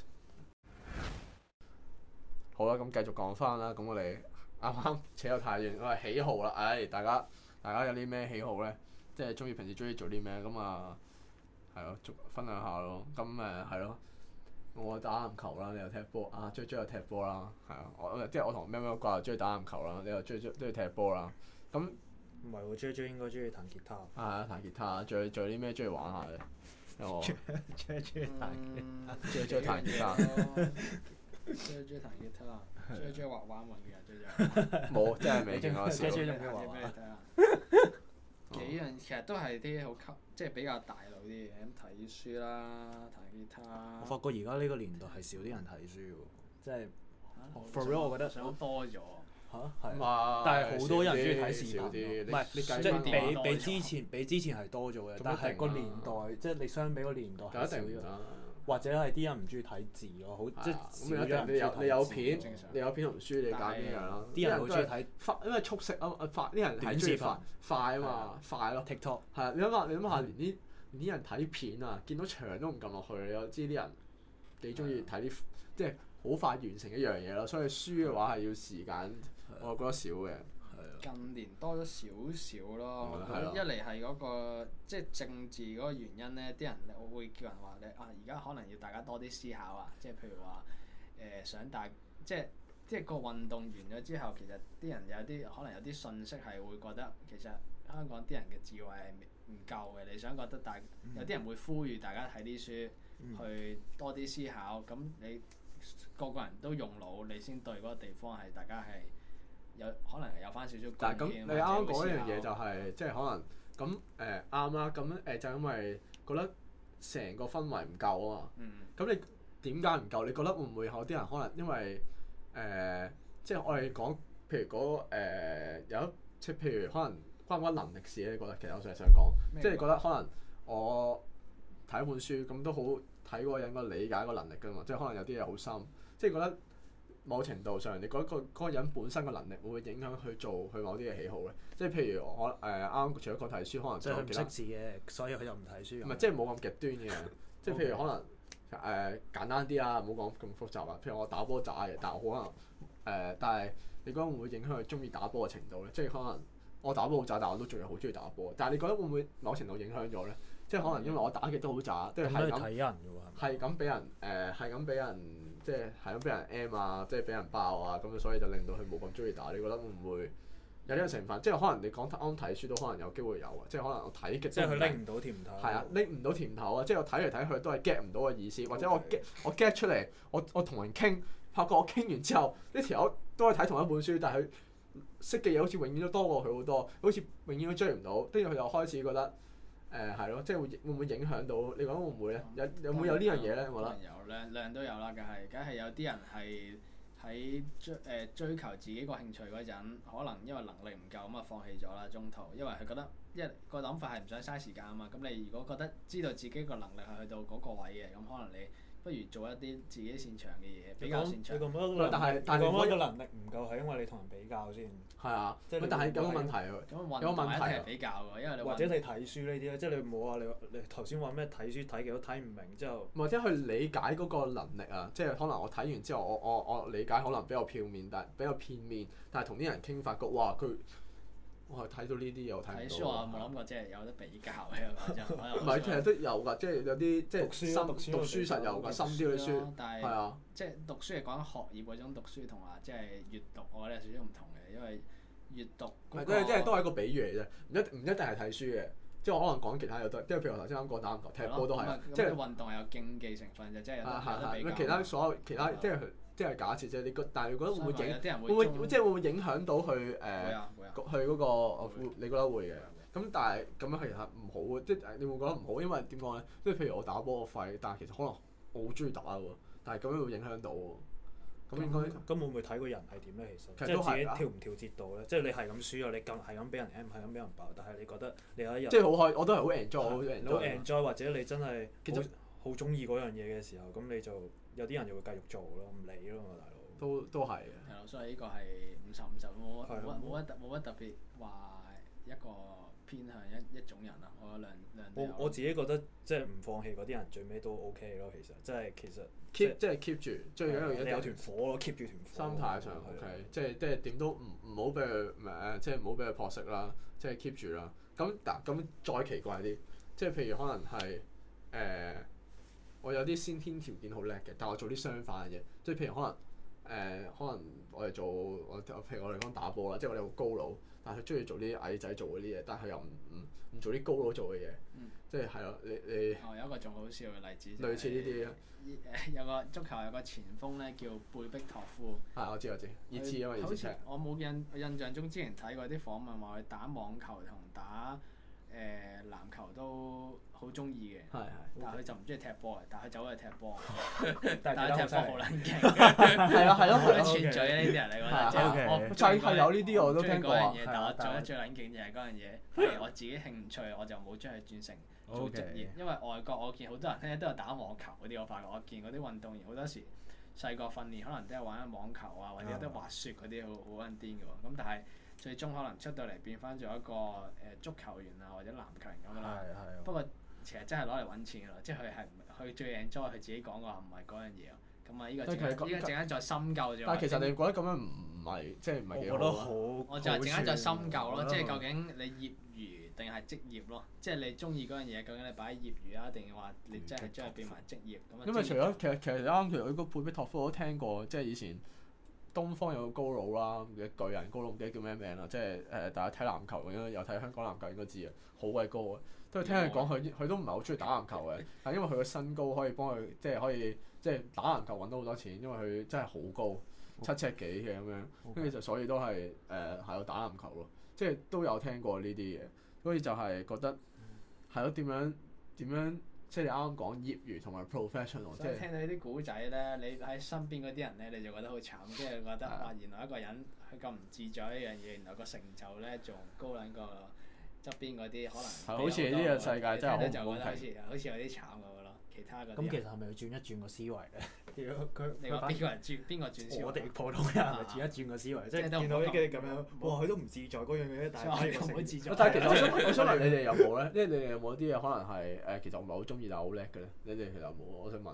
S1: 好啦，咁繼續講翻啦。咁我哋啱啱扯得太遠，我係喜好啦。大家有啲咩喜好咧？即係平時中意做啲咩？咁啊，係咯，分享下咯。咁係咯。我打籃球啦，你又踢波啊，追又踢波啦，係啊，我同咩掛又中意打籃球啦，你又中意踢波啦，咁
S2: 唔係喎，J 應該中意彈吉他。
S1: 係啊，彈吉他，仲有啲咩中意玩下嘅？我
S2: 中意彈吉他，
S1: 中意彈吉他。
S3: 中意彈吉他，中意畫畫文嘅人，
S1: 冇，真係未見過笑。
S2: 中意畫畫。
S3: 幾樣其實都係啲好即係比較大路啲嘅，咁睇書啦，彈吉他。
S2: 我發覺而家呢個年代係少啲人睇書喎，即係 for real 我覺得
S3: 想多咗。
S2: 嚇係，但係好多人中意睇視頻，唔係即係比之前係多咗嘅，但係個年代即係你相比個年代係少咗，或者係啲人唔中意睇字咯，好即係少咗人。
S1: 你有片同書，你揀邊樣啦？
S2: 啲人好中意睇，
S1: 因為速食啊啲人睇中意快啊嘛，快咯。
S2: TikTok
S1: 係啊，你諗下，連啲人睇片啊，見到牆都唔撳落去，你又知啲人幾中意睇啲即係好快完成一樣嘢咯。所以書嘅話係要時間，我覺得少嘅。
S3: 近年多咗少少咯，我覺得一嚟係嗰個即係政治嗰個原因咧，啲人我會叫人話你而家可能要大家多啲思考啊，即係譬如話想即係個運動完咗之後，其實啲人可能有啲信息係會覺得其實香港啲人嘅智慧係唔夠嘅，你想覺得有啲人會呼籲大家睇啲書，去多啲思考，咁你個人都用腦，你先對嗰個地方係大家係。可能有翻少少貢獻。
S1: 但係咁，你啱啱講一樣嘢就係，即係可能咁啱啦。咁就因為覺得成個氛圍唔夠啊嘛。咁你點解唔夠？你覺得會唔會有啲人可能因為即係我哋講，譬如有即係譬如可能關唔關能力事咧？你覺得其實我成日想講，即係覺得可能我睇一本書咁都好睇嗰個人個理解個能力㗎嘛。即係可能有啲嘢好深，即係覺得。某程度上，你覺得嗰個人本身嘅能力會唔會影響佢某啲嘅喜好咧？即係譬如我啱除咗講睇書，可能
S2: 即係佢唔識字嘅，所以佢就唔睇書。
S1: 唔係，即係冇咁極端嘅，即係譬如可能簡單啲啊，唔好講咁複雜啊。譬如我打波渣嘅，但係我可能但係你覺得會唔會影響佢中意打波嘅程度咧？即係可能我打波好渣，但我都仲係好中意打波。但係你覺得會唔會某程度影響咗咧？即係可能因為我打極都好渣，即係係咁俾人。即係咁俾人 M 啊，即係俾人爆啊，咁所以就令到佢冇咁中意打。你覺得會唔會有呢個成分？即係可能你講啱睇書都可能有機會有啊。即係可能我睇極即係
S2: 佢拎唔到甜頭。
S1: 係啊，拎唔到甜頭啊！即係我睇嚟睇去都係 get 唔到個意思，或者我 get 出嚟，我同人傾，發覺我傾完之後，呢條友都係睇同一本書，但係佢識嘅嘢好似永遠都多過佢好多，好似永遠都追唔到。跟住佢就開始覺得係咯，即係會唔會影響到？你講會唔會咧？有冇呢樣嘢咧？我覺得。
S3: 量都有啦，梗係有啲人係喺追求自己個興趣嗰陣，可能因為能力唔夠咁啊放棄咗啦中途，因為佢覺得個諗法係唔想嘥時間啊嘛。咁你如果覺得知道自己個能力係去到嗰個位嘅，咁可能你不如做一啲自己擅長嘅嘢，比較擅長。
S2: 但係你講個能力唔夠係因為你同人比較先。
S1: 係啊，但係有個問題喎，有個問題
S3: 係比較㗎，因為你
S2: 或者你睇書呢啲咧，即係你冇話你頭先話咩睇書睇極都睇唔明之後，
S1: 或者去理解嗰個能力啊，即係可能我睇完之後，我理解可能比較片面，但係同啲人傾發覺，哇我係睇到呢啲嘢我睇唔到。
S3: 睇書我冇諗過即係有得比較嘅，
S1: 唔係，其實都有㗎，即係有啲即係讀書實有㗎，深啲嘅書。
S3: 但係即係讀書係講學業嗰種讀書，同埋即係閱讀，我覺得有少少唔同嘅，因為閱讀
S1: 即係都係一個比喻嚟啫，唔一定係睇書嘅。即係我可能講其他嘢都，即係譬如我頭先啱講打籃球、踢波都係，即係
S3: 運動係有競技成分嘅，即係有得比較。
S1: 其他所有即係假設啫，但係你覺得會唔會影響到佢佢嗰個？你覺得會嘅。咁但係咁樣其實唔好嘅，即係你會覺得唔好，因為點講咧？即係譬如我打波個肺，但係其實可能我好中意打喎，但係咁樣會影響到喎。 咁應該
S2: 咁會唔會睇個人係點咧？其實
S1: 其實都係
S2: 即係自己調唔調節到咧。即係你係咁輸啊，你係咁俾人 M，係咁俾人爆，但係你覺得你有一日
S1: 即係好開，我都係好 enjoy，好
S2: 你好
S1: enjoy。
S2: enjoy 或者你真係
S1: 其實
S2: 好中意嗰樣嘢嘅時候，咁你就有啲人就會繼續做咯，唔理咯嘛，大佬。
S1: 都係嘅。
S3: 係咯，所以呢個係50-50，冇乜特別話一個偏向一種人啊。我覺得兩都有。
S2: 我自己覺得即係唔放棄嗰啲人最尾都 OK 咯，其實其實
S1: keep 住，最緊要
S2: 你有團火咯，keep 住團火。
S1: 心態上 OK，即係點都唔好俾佢即係唔好俾佢撲食啦，即係 keep 住啦。咁再奇怪啲，即係譬如可能係我有啲先天條件好叻嘅，但我做啲相反嘅嘢，即係譬如可能我哋譬如我哋講打波啦，即係我哋好高佬，但係佢中意做啲矮仔做嗰啲嘢，但係佢又唔做啲高佬做嘅嘢，即係係咯，你
S3: 有一個仲好笑嘅例子，
S1: 類似呢啲
S3: 有個足球有個前鋒咧叫貝碧托夫。
S1: 係我知熱刺啊嘛，
S3: 好似我冇印象中之前睇過啲訪問話佢打網球同打籃球都好中意嘅，但係佢就唔中意踢波嘅，但係佢走去踢波，但係踢波好撚勁，
S1: 係咯，
S3: 串嘴呢啲人嚟講，即係我
S1: 係有呢啲我都聽過
S3: 嗰樣嘢，但我做得最撚勁就係嗰樣嘢，反而我自己興趣我就冇將佢轉成做職業，因為外國我見好多人咧都有打網球嗰啲，我發覺我見嗰啲運動員好多時細個訓練可能都係玩緊網球啊，或者有啲滑雪嗰啲好撚癲嘅喎，咁但係最終可能出到嚟變翻做一個足球員啊或者籃球員咁啦。不過其實真係攞嚟揾錢㗎咯，即係佢最 enjoy 佢自己講嘅話唔係嗰樣嘢咯。咁啊，呢個陣間再深究咗。
S1: 但係其實你覺得咁樣唔係即係唔係幾好？
S2: 我覺得好。
S3: 我就係陣間再深究咯，即係究竟你業餘定係職業咯？即係你中意嗰樣嘢，究竟你擺喺業餘啊，定係話你真係將佢變埋職業咁啊？
S1: 因為除咗其實啱，其實嗰個貝碧托夫我都聽過，即係以前東方有個高佬啦，嘅巨人高佬唔記得叫咩名啦，即係大家睇籃球應該有睇香港籃球應該知啊，好鬼高啊！都係聽佢講，佢都唔係好中意打籃球嘅，但係因為佢個身高可以幫佢，即係可以即係打籃球揾到好多錢，因為佢真係好高，7尺幾嘅咁樣，跟住就所以都係喺度打籃球咯，即係都有聽過呢啲嘢，所以就係覺得係咯點樣，即係你啱啱講業餘同埋 professional， 即係
S3: 聽到呢啲古仔咧，你喺身邊嗰啲人咧，你就覺得好慘，即係覺得哇原來一個人佢咁唔自在一樣嘢，原來個成就咧仲高撚過側邊嗰啲可能。
S1: 好似呢個世界真係好唔公
S3: 平。好似有啲慘咁咯，其他嗰啲。
S2: 咁其實係咪要轉一轉個思維咧？
S3: 你話邊個轉思維？
S2: 我哋普通人係咪轉一轉個思維？即係見到呢啲咁樣，哇！佢都唔自在嗰樣嘢，但係
S3: 唔會自在。
S1: 但係其實我想問你哋有冇咧？即係你哋有冇啲嘢可能係其實我唔係好中意但係好叻嘅咧？你哋其實有冇？我想問。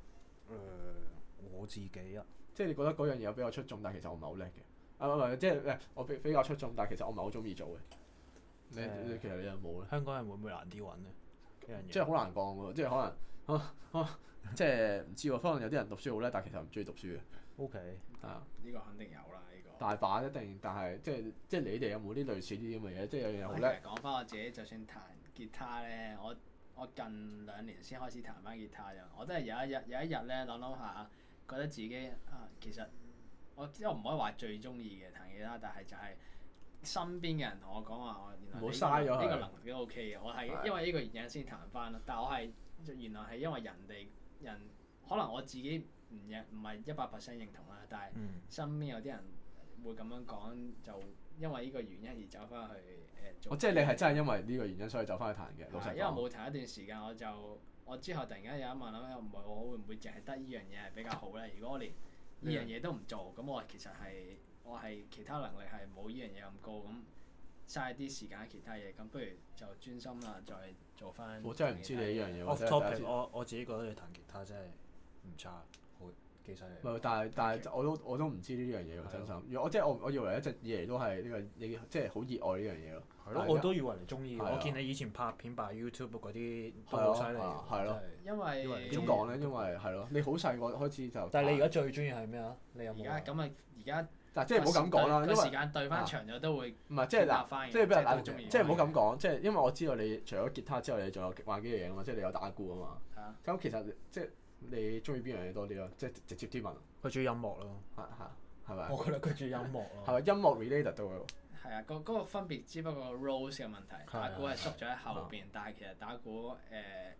S2: 我自己啊，
S1: 即係你覺得嗰樣嘢比較出眾，但係其實我唔係好叻嘅。即係我比較出眾，但係其實我唔係好中意做嘅。其實你有冇咧？
S2: 香港人會唔會難啲揾咧？呢樣嘢
S1: 即係好難講喎，即係可能即係唔知喎。可能有啲人讀書好叻，但係其實唔中意讀書嘅。
S2: OK，
S3: 係啊，呢個肯定有啦，呢個。
S1: 大把一定，但係即係你哋有冇啲類似啲咁嘅嘢？即係有樣嘢好叻。
S3: 講翻我自己，就算彈吉他咧，我近2年先開始彈翻吉他啫。我都係有一日咧諗下，覺得自己其實我唔可以話最中意嘅彈吉他，但係就係身邊嘅人同我講話，原來呢個能力都 OK 嘅。我係因為呢個原因先彈翻咯。但係我係原來係因為人可能我自己唔係100% 認同啦，但係身邊有啲人會咁樣講，就因為呢個原因而走翻去做。
S1: 即係你係真係因為呢個原因所以走翻去彈嘅，老實講。
S3: 因為冇彈一段時間，我之後突然間有一晚諗，唔係我會唔會淨係得呢樣嘢係比較好咧？如果我連呢樣嘢都唔做，咁我其實我係其他能力係冇呢樣嘢咁高，咁嘥啲時間喺其他嘢，咁不如就專心啦，再做翻。
S1: 我真係唔知你呢樣嘢。
S2: Off topic，我自己覺得你彈吉他真係唔差，好幾犀利。
S1: 唔係，但係我都唔知呢樣嘢喎，真心。我以為一直以嚟都係呢個即係好熱愛呢樣嘢咯。
S2: 係咯，我都以為你中意。我見你以前拍片擺 YouTube 嗰啲都好犀利。
S1: 係咯。
S3: 因為
S1: 點講咧？因為係咯，你好細個開始就。
S2: 但係你而家最中意係咩啊？你有冇？
S3: 而家。
S1: 但即係唔好咁講啦，因為
S3: 時間對翻長咗都會
S1: 唔係即係嗱，即係俾人打，即係唔好咁講，即係因為我知道你除咗吉他之外，你仲有玩幾樣嘢啊嘛，即係你有打鼓啊嘛。係啊。咁其實即係你中意邊樣嘢多啲咯？即係直接啲問。
S2: 佢中意音樂咯。
S1: 係咪？
S2: 我覺得佢中意音樂咯。
S1: 係咪音樂 related 都會？
S3: 係啊，嗰個分別只不過 roles 嘅問題，打鼓係縮咗喺後邊，但係其實打鼓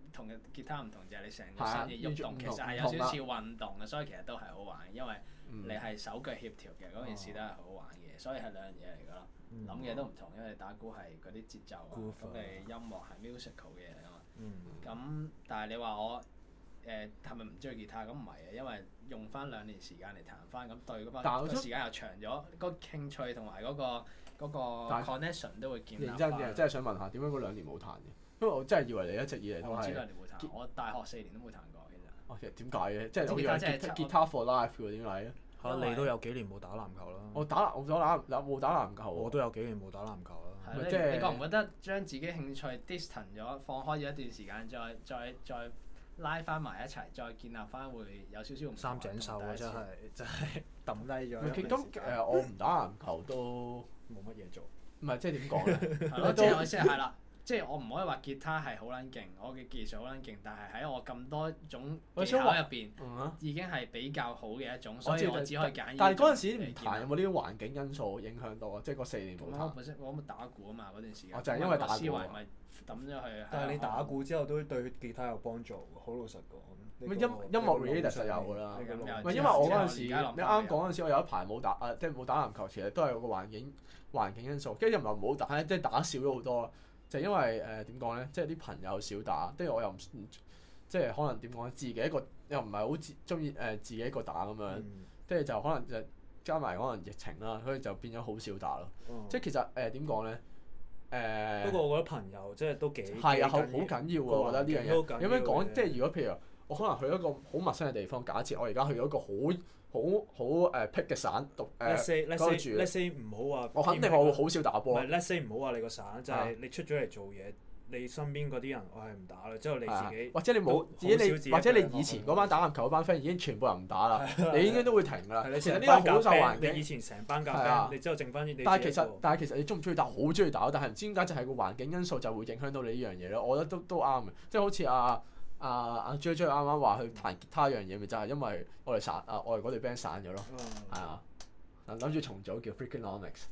S3: 同吉他唔同就係你成個身嘅喐動，其實係有少少似運動嘅，所以其實都係好玩嘅，因為你係手腳協調嘅嗰件事都係好玩嘅，所以係兩樣嘢嚟㗎咯。諗嘅都唔同，因為打鼓係嗰啲節奏啊，咁你音樂係 musical 嘅嘢嚟㗎嘛。咁但係你話我係咪唔中意吉他？咁唔係嘅，因為用翻2年時間嚟彈翻，咁對嗰班個時間又長咗，個興趣同埋嗰個 connection 都會建立翻。認
S1: 真嘅，真係想問下點解嗰2年冇彈嘅？因為我真係以為你一直以嚟都係。
S3: 我唔知2年冇彈，我大學4年都冇彈過其實。
S1: 其實點解嘅？即係我以為吉他 for life 喎，點解咧？
S2: 你都有幾年冇打籃球啦？
S1: 我冇打籃球。
S2: 我都有幾年冇打籃球啦。
S3: 你覺唔覺得將自己興趣 distant 咗，放開咗一段時間，再拉翻埋一齊，再建立翻會有少少唔同。
S2: 三井壽啊，真係抌低咗。
S1: 咁我唔打籃球都
S2: 冇乜嘢做。
S1: 唔係即係點講咧？
S3: 係咯，即係我意思係啦。即係我唔可以話吉他係好撚勁，我嘅技術好撚勁，但係喺我咁多種技巧入邊，已經係比較好嘅一種，所以我只可以揀。
S1: 但係嗰陣時唔彈有冇呢啲環境因素影響到啊？即係嗰4年冇彈。
S3: 我冇打鼓啊嘛，嗰段時間。
S1: 我就係因為打鼓。
S3: 思維咪抌咗去。
S2: 但係你打鼓之後都對吉他有幫助，好老實講。
S1: 音樂 related 實有㗎啦。唔係因為我嗰陣時，你啱講嗰陣時，我有一排冇打即係冇打籃球，其實都係有個環境因素。跟住又唔係唔好打，即係打少咗好多。就因為點講咧，即係啲朋友少打，跟住我又唔即係可能點講咧，自己一個又唔係好中意自己一個打咁樣，跟住就可能就加埋可能疫情啦，所以就變咗好少打咯。即係其實點講咧
S2: 不過我覺得朋友即係都幾
S1: 係啊，好緊要喎！我覺得呢樣嘢。有咩講？即係如果譬如我可能去一個好陌生嘅地方，假設我而家去咗一個好僻嘅省讀嗰度住。
S2: Let's say 唔好話，
S1: 我肯定我會好少打波。
S2: 唔係 Let's say 唔好話你個省，就係你出咗嚟做嘢，你身邊嗰啲人我係唔打啦，之後你自己
S1: 或者你冇自己或者你以前嗰班打籃球嗰班 friend 已經全部人唔打啦，你應該都會停㗎啦。其實呢個好受環境。
S2: 你以前成班夾 band，你之後剩翻啲你。
S1: 但係其實你中唔中意打？好中意打，但係唔知點解就係個環境因素就會影響到你呢樣嘢咯。我覺得都啱嘅，即係好似阿 J 啱啱話去彈吉他一樣嘢，咪就係因為我哋我哋嗰隊 band 散咗咯，係啊，諗住重組叫 Freakonomics，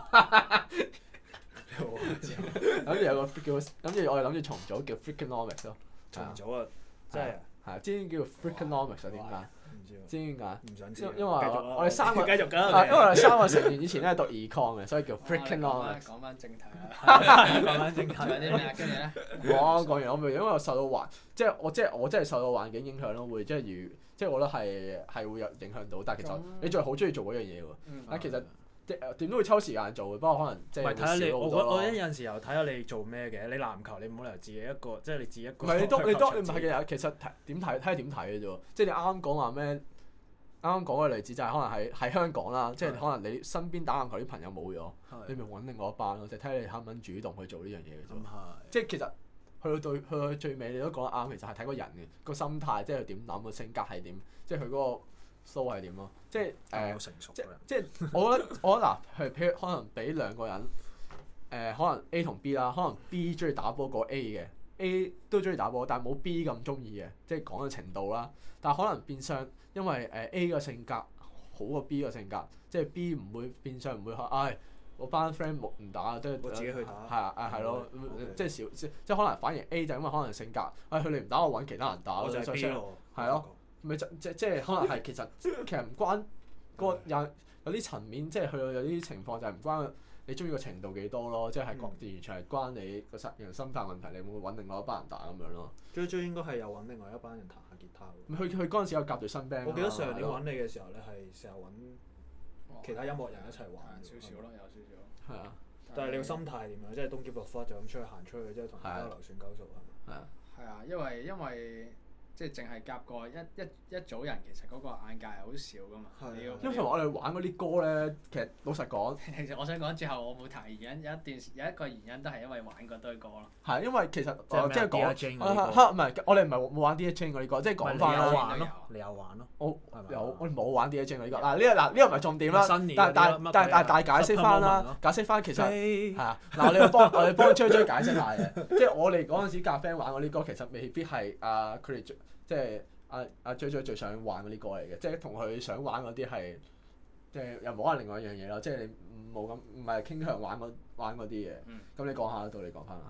S1: 諗住有個我哋諗住重組叫 Freakonomics 咯，
S2: 重組啊，真係
S1: 係之前叫 Freakonomics 點解？知點解？
S2: 唔想知。
S1: 因為我哋3個
S2: 繼續㗎。
S1: 因為我哋3個成員以前咧係讀 econ 嘅，所以叫 Freakonomics。
S3: 講翻正題啦。
S2: 講翻正題。
S3: 有啲咩啊？跟住咧。
S1: 講完我咪因為我受到我真係受到環境影響咯，會即係我覺得係會有影響到，但係其實你仲係好中意做嗰樣嘢喎。但其實點都會抽時間做嘅，不過可能即係會少好多咯。
S2: 我有陣時候睇下你做咩嘅，你籃球你唔好理由自己一個，即係你自己一個。
S1: 唔係你唔係嘅，其實點睇睇點睇嘅啫喎，即係你啱啱講話咩？啱啱講嘅例子就係可能喺香港啦，即係可能你身邊打籃球啲朋友冇咗，你咪揾另外一班咯，就睇你肯唔肯主動去做呢樣嘢嘅啫。即係其實去到最尾你都講得啱，其實係睇個人嘅個心態，即係佢點諗，個性格係點，即係佢嗰個 flow 係點咯。即係即係我覺得嗱，譬如可能俾2個人可能 A 同 B 啦，可能 B 中意打波過 A 嘅 ，A 都中意打波，但係冇 B 咁中意嘅，即係講嘅程度啦。但係可能變相因為A 個性格好過 B 個性格，即係 B 唔會變相唔會話，我班 friend 唔打，即係
S2: 我自己去打。
S1: 係咯，即係即係可能反而 A 就因為可能性格，佢哋唔打我揾其他人打咯，
S2: 就係 B 咯。
S1: 係咯，咪即係可能係其實唔關嗰個有啲層面，即係去到有啲情況就係唔關你中意個程度幾多咯，即係完全係關你個人心態問題，你會唔會揾另外一班人打咁樣咯？
S2: 追應該係有揾另外一班人彈下吉他喎。
S1: 佢嗰陣時有夾隊新 band。
S2: 我記得上年揾你嘅時候咧，係成日揾其他音樂人一齊玩。
S3: 少少咯，有少少。
S1: 係啊。
S2: 但係你個心態點樣？即係東劫落花就咁行出去，即係同大家流算鳩數係咪？
S3: 係啊，因為即係淨係夾過一組人，其實嗰個眼界係好少噶嘛。
S1: 因為我哋玩嗰啲歌咧，其實老實講，
S3: 其實我想講最後我冇提原因，有一個原因都係因為玩嗰堆歌咯。
S1: 係因為其實即係講
S2: 唔
S1: 係我哋唔係冇玩 DJ 嗰啲歌，即係講翻啦。
S2: 你有玩咯？
S1: 我冇玩 DJ 嗰啲歌。呢個唔係重點啦。但解釋翻啦，解釋翻其實係啊。嗱，我哋幫追解釋下嘅，即係我哋嗰陣時夾 band 玩嗰啲歌，其實未必係佢哋即係阿追最想玩嗰啲歌嚟嘅，即係同佢想玩嗰啲係，即係又冇可能另外一樣嘢咯，即係你冇咁唔係傾向玩嗰啲嘢。咁你講下到你講翻係。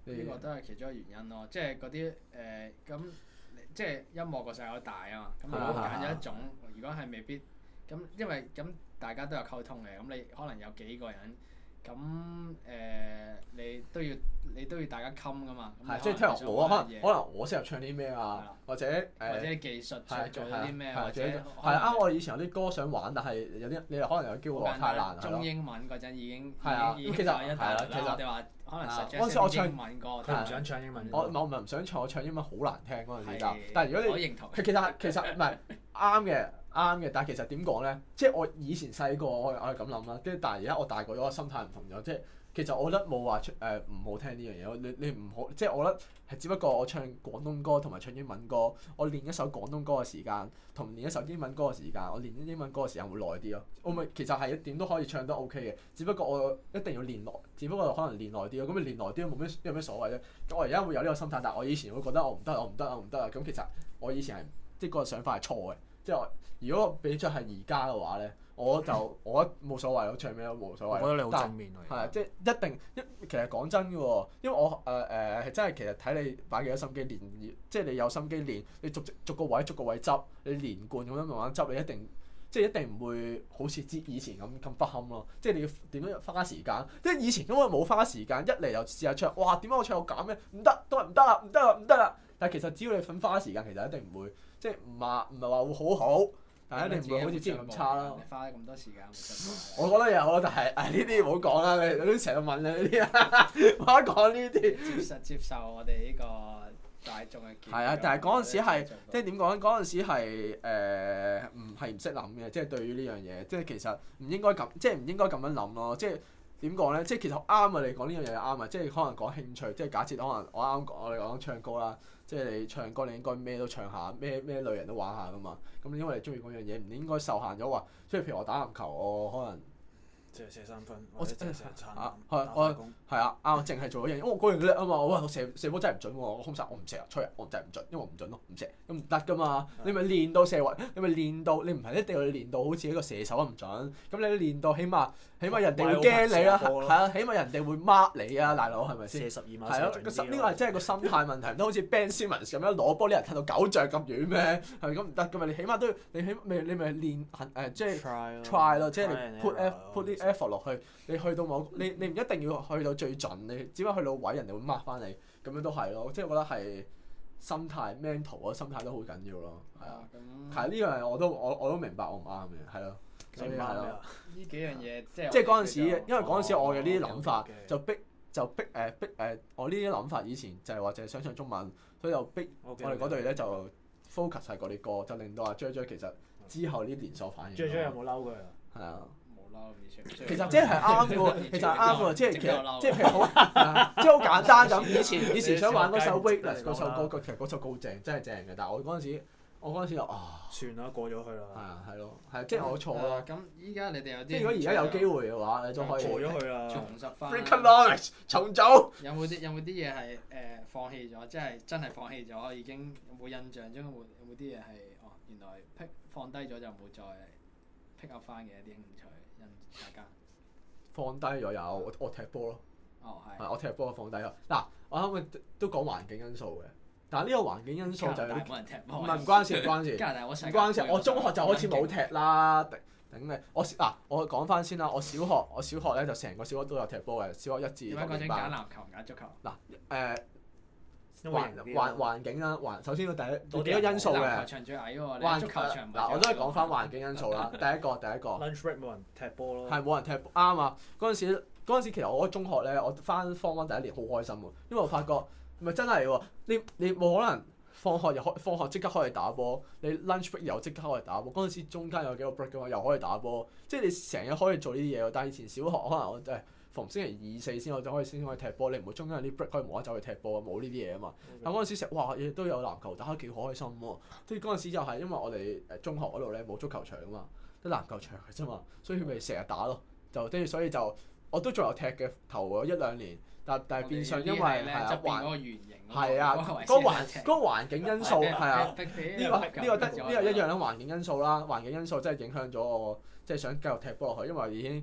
S3: 呢個都係其中一個原因咯，即係嗰啲咁，即係音樂個世界好大啊嘛。咁如果揀咗一種，如果係未必咁，因為咁大家都有溝通嘅，咁你可能有幾個人，咁你都要大家冚噶嘛。
S1: 係，即係聽我可能我適合唱啲咩啊，或者
S3: 技術做啲咩，或者
S1: 係啱我以前有啲歌想玩，但係有啲你可能有機會話太難。
S3: 中英文嗰陣已經
S1: 其實
S3: 係啦，其實我哋話可能實
S1: 嗰陣時我唱
S3: 英文歌，
S2: 佢唔想唱英文歌。
S1: 我唔想唱，我唱英文好難聽嗰陣時。但係如果你
S3: 我認同，
S1: 其實唔係啱嘅，但係其實點講咧？即係我以前細個我係咁諗啦，跟住但係而家我大個咗，我心態唔同咗。即係其實我覺得冇話唔好聽呢樣嘢。你唔好，即係我覺得係只不過我唱廣東歌同埋唱英文歌，我練一首廣東歌嘅時間同練一首英文歌嘅時間，我練英文歌嘅時間會耐啲咯。我咪其實係點都可以唱得 OK 嘅，只不過我一定要練耐，只不過可能練耐啲咯。咁你練耐啲有咩所謂啫？我而家會有呢個心態，但係我以前會覺得我唔得啊。咁其實我以前係即係個想法係錯嘅。即係如果俾出係而家嘅話咧，我覺得冇所謂，我唱咩都冇所謂。
S2: 我覺得你好正面喎。
S1: 係啊，即係一定其實講真嘅喎，因為我係真係其實睇你擺幾多心機練，即係你有心機練，你逐個位執，你連貫咁樣慢慢執，你一定唔會好似以前咁不堪咯。即係你要點樣花時間？即係以前因為冇花時間，一嚟就試下唱，哇！點解我唱到咁嘅？唔得，都係唔得啦！但係其實只要你肯花時間，其實一定唔會，即係唔係話會好，但係一定唔會好似之前咁差啦。
S3: 你花咁多時間，
S1: 我覺得有咯，但係呢啲唔好講啦，你都成日問你呢啲啊，唔好講呢啲。
S3: 接受我哋呢個大眾嘅建議。
S1: 係啊，但係嗰陣時係即係點講咧？嗰陣時係唔識諗嘅，即係對於呢樣嘢，即係其實唔應該咁，即係唔應該咁樣諗咯，即係。點講咧？即係其實啱啊！你講呢樣嘢啱啊！即係可能講興趣，即係假設可能我哋講唱歌啦，即係你唱歌你應該咩都唱下，咩類人都玩下噶嘛。咁因為你中意嗰樣嘢，唔應該受限咗話，即係譬如我打籃球，我可能
S2: 即係射三分，
S1: 我
S2: 即係射餐
S1: 係啊，啱，淨係做嗰樣嘢，因為我嗰樣叻啊嘛。我射波真係唔準喎，我空手我唔射啊，吹啊，我真係唔準，因為我唔準咯，唔射咁唔得噶嘛。你咪練到射位，你咪練到，你唔係一定要練到好似一個射手咁唔準。咁你練到起碼人哋會驚你啦，係啊，起碼人哋會 mark 你啊，大佬係咪先？
S2: 射12碼
S1: 係咯，呢個係真係個心態問題，唔通好似 Ben Simmons 咁樣攞波啲人踢到9丈咁遠咩？係咪咁唔得噶嘛？你起碼都要，你咪練即係 try 咯，即係你 put 啲 effort 落去。你去到你唔一定要去到最盡，你只不過去到位，人哋會 mark 翻你，咁樣都係咯。即係我覺得係心態 mental 啊，心態都好緊要咯。係啊，係呢樣我都明白我唔啱嘅，係咯。所以係咯。
S3: 呢幾樣嘢即
S1: 係嗰陣時，因為嗰陣時我嘅呢啲諗法就逼我呢啲諗法以前就係話淨係想唱中文，所以就逼我哋嗰隊咧就 focus 係嗰啲歌，就令到阿 J 其實之後呢連鎖反應。
S2: J 有冇嬲佢啊？
S1: 係啊。
S3: 其
S1: 實即係啱嘅喎，其實係啱嘅喎，即係譬如好，即係好簡單咁。以前想玩嗰首 Weightless 嗰首歌，其實嗰首歌好正，真係正嘅。但係我嗰陣時就
S2: 算啦，過咗去啦。
S1: 係啊，係咯，係即係我錯啦。
S3: 咁依家你哋有啲，
S1: 即係如果而家有機會嘅話，你都可以
S2: 過咗去啦。
S3: 重拾翻。
S1: Freakonomics 重組。
S3: 有冇啲嘢係放棄咗？即係真係放棄咗，已經有冇印象中有冇啲嘢係原來放低咗就冇再 pick up 翻嘅一啲興趣？大家
S1: 放低咗有我踢波咯。
S3: 係。
S1: 我踢波放低咗。嗱，我啱啱都講環境因素嘅，但係呢個環境因素就係
S3: 冇人踢波。
S1: 唔關事。唔關事。我中學就開始冇踢啦，頂你！我講翻先啦。我小學咧就成個小學都有踢波嘅，小學1至6年班。
S3: 點解嗰陣揀籃球唔揀足球？
S1: 環境啦，首先個幾個因素嘅。
S3: 籃球場最矮喎，足球場唔係。
S1: 我都係講翻環境因素啦。第一個。
S2: Lunch break 冇人踢波咯。
S1: 係冇人踢波，啱啊！嗰陣時其實我中學咧，我翻 Form 1第一年好開心喎，因為我發覺咪真係喎，你冇可能放學即刻開嚟打波，你 lunch break 又即刻開嚟打波。嗰陣時中間有幾個 break 㗎嘛，又可以打波，即係你成日可以做呢啲嘢喎。但係以前小學可能我真係逢星期2、4先可以踢波，你唔會中間有啲 break 可以無啦啦走去踢波啊，冇呢啲嘢啊嘛。但嗰陣時成日亦都有籃球打，幾開心喎。即係嗰陣時就係因為我哋中學嗰度咧冇足球場啊嘛，得籃球場嘅啫嘛，所以咪成日打咯。就跟住所以就我都仲有踢嘅頭嗰1-2年，但係變相因為係啊嗰個環境因素係啊，呢個一樣啦，環境因素啦，環境因素真係影響咗我，即係想繼續踢波落去，因為已經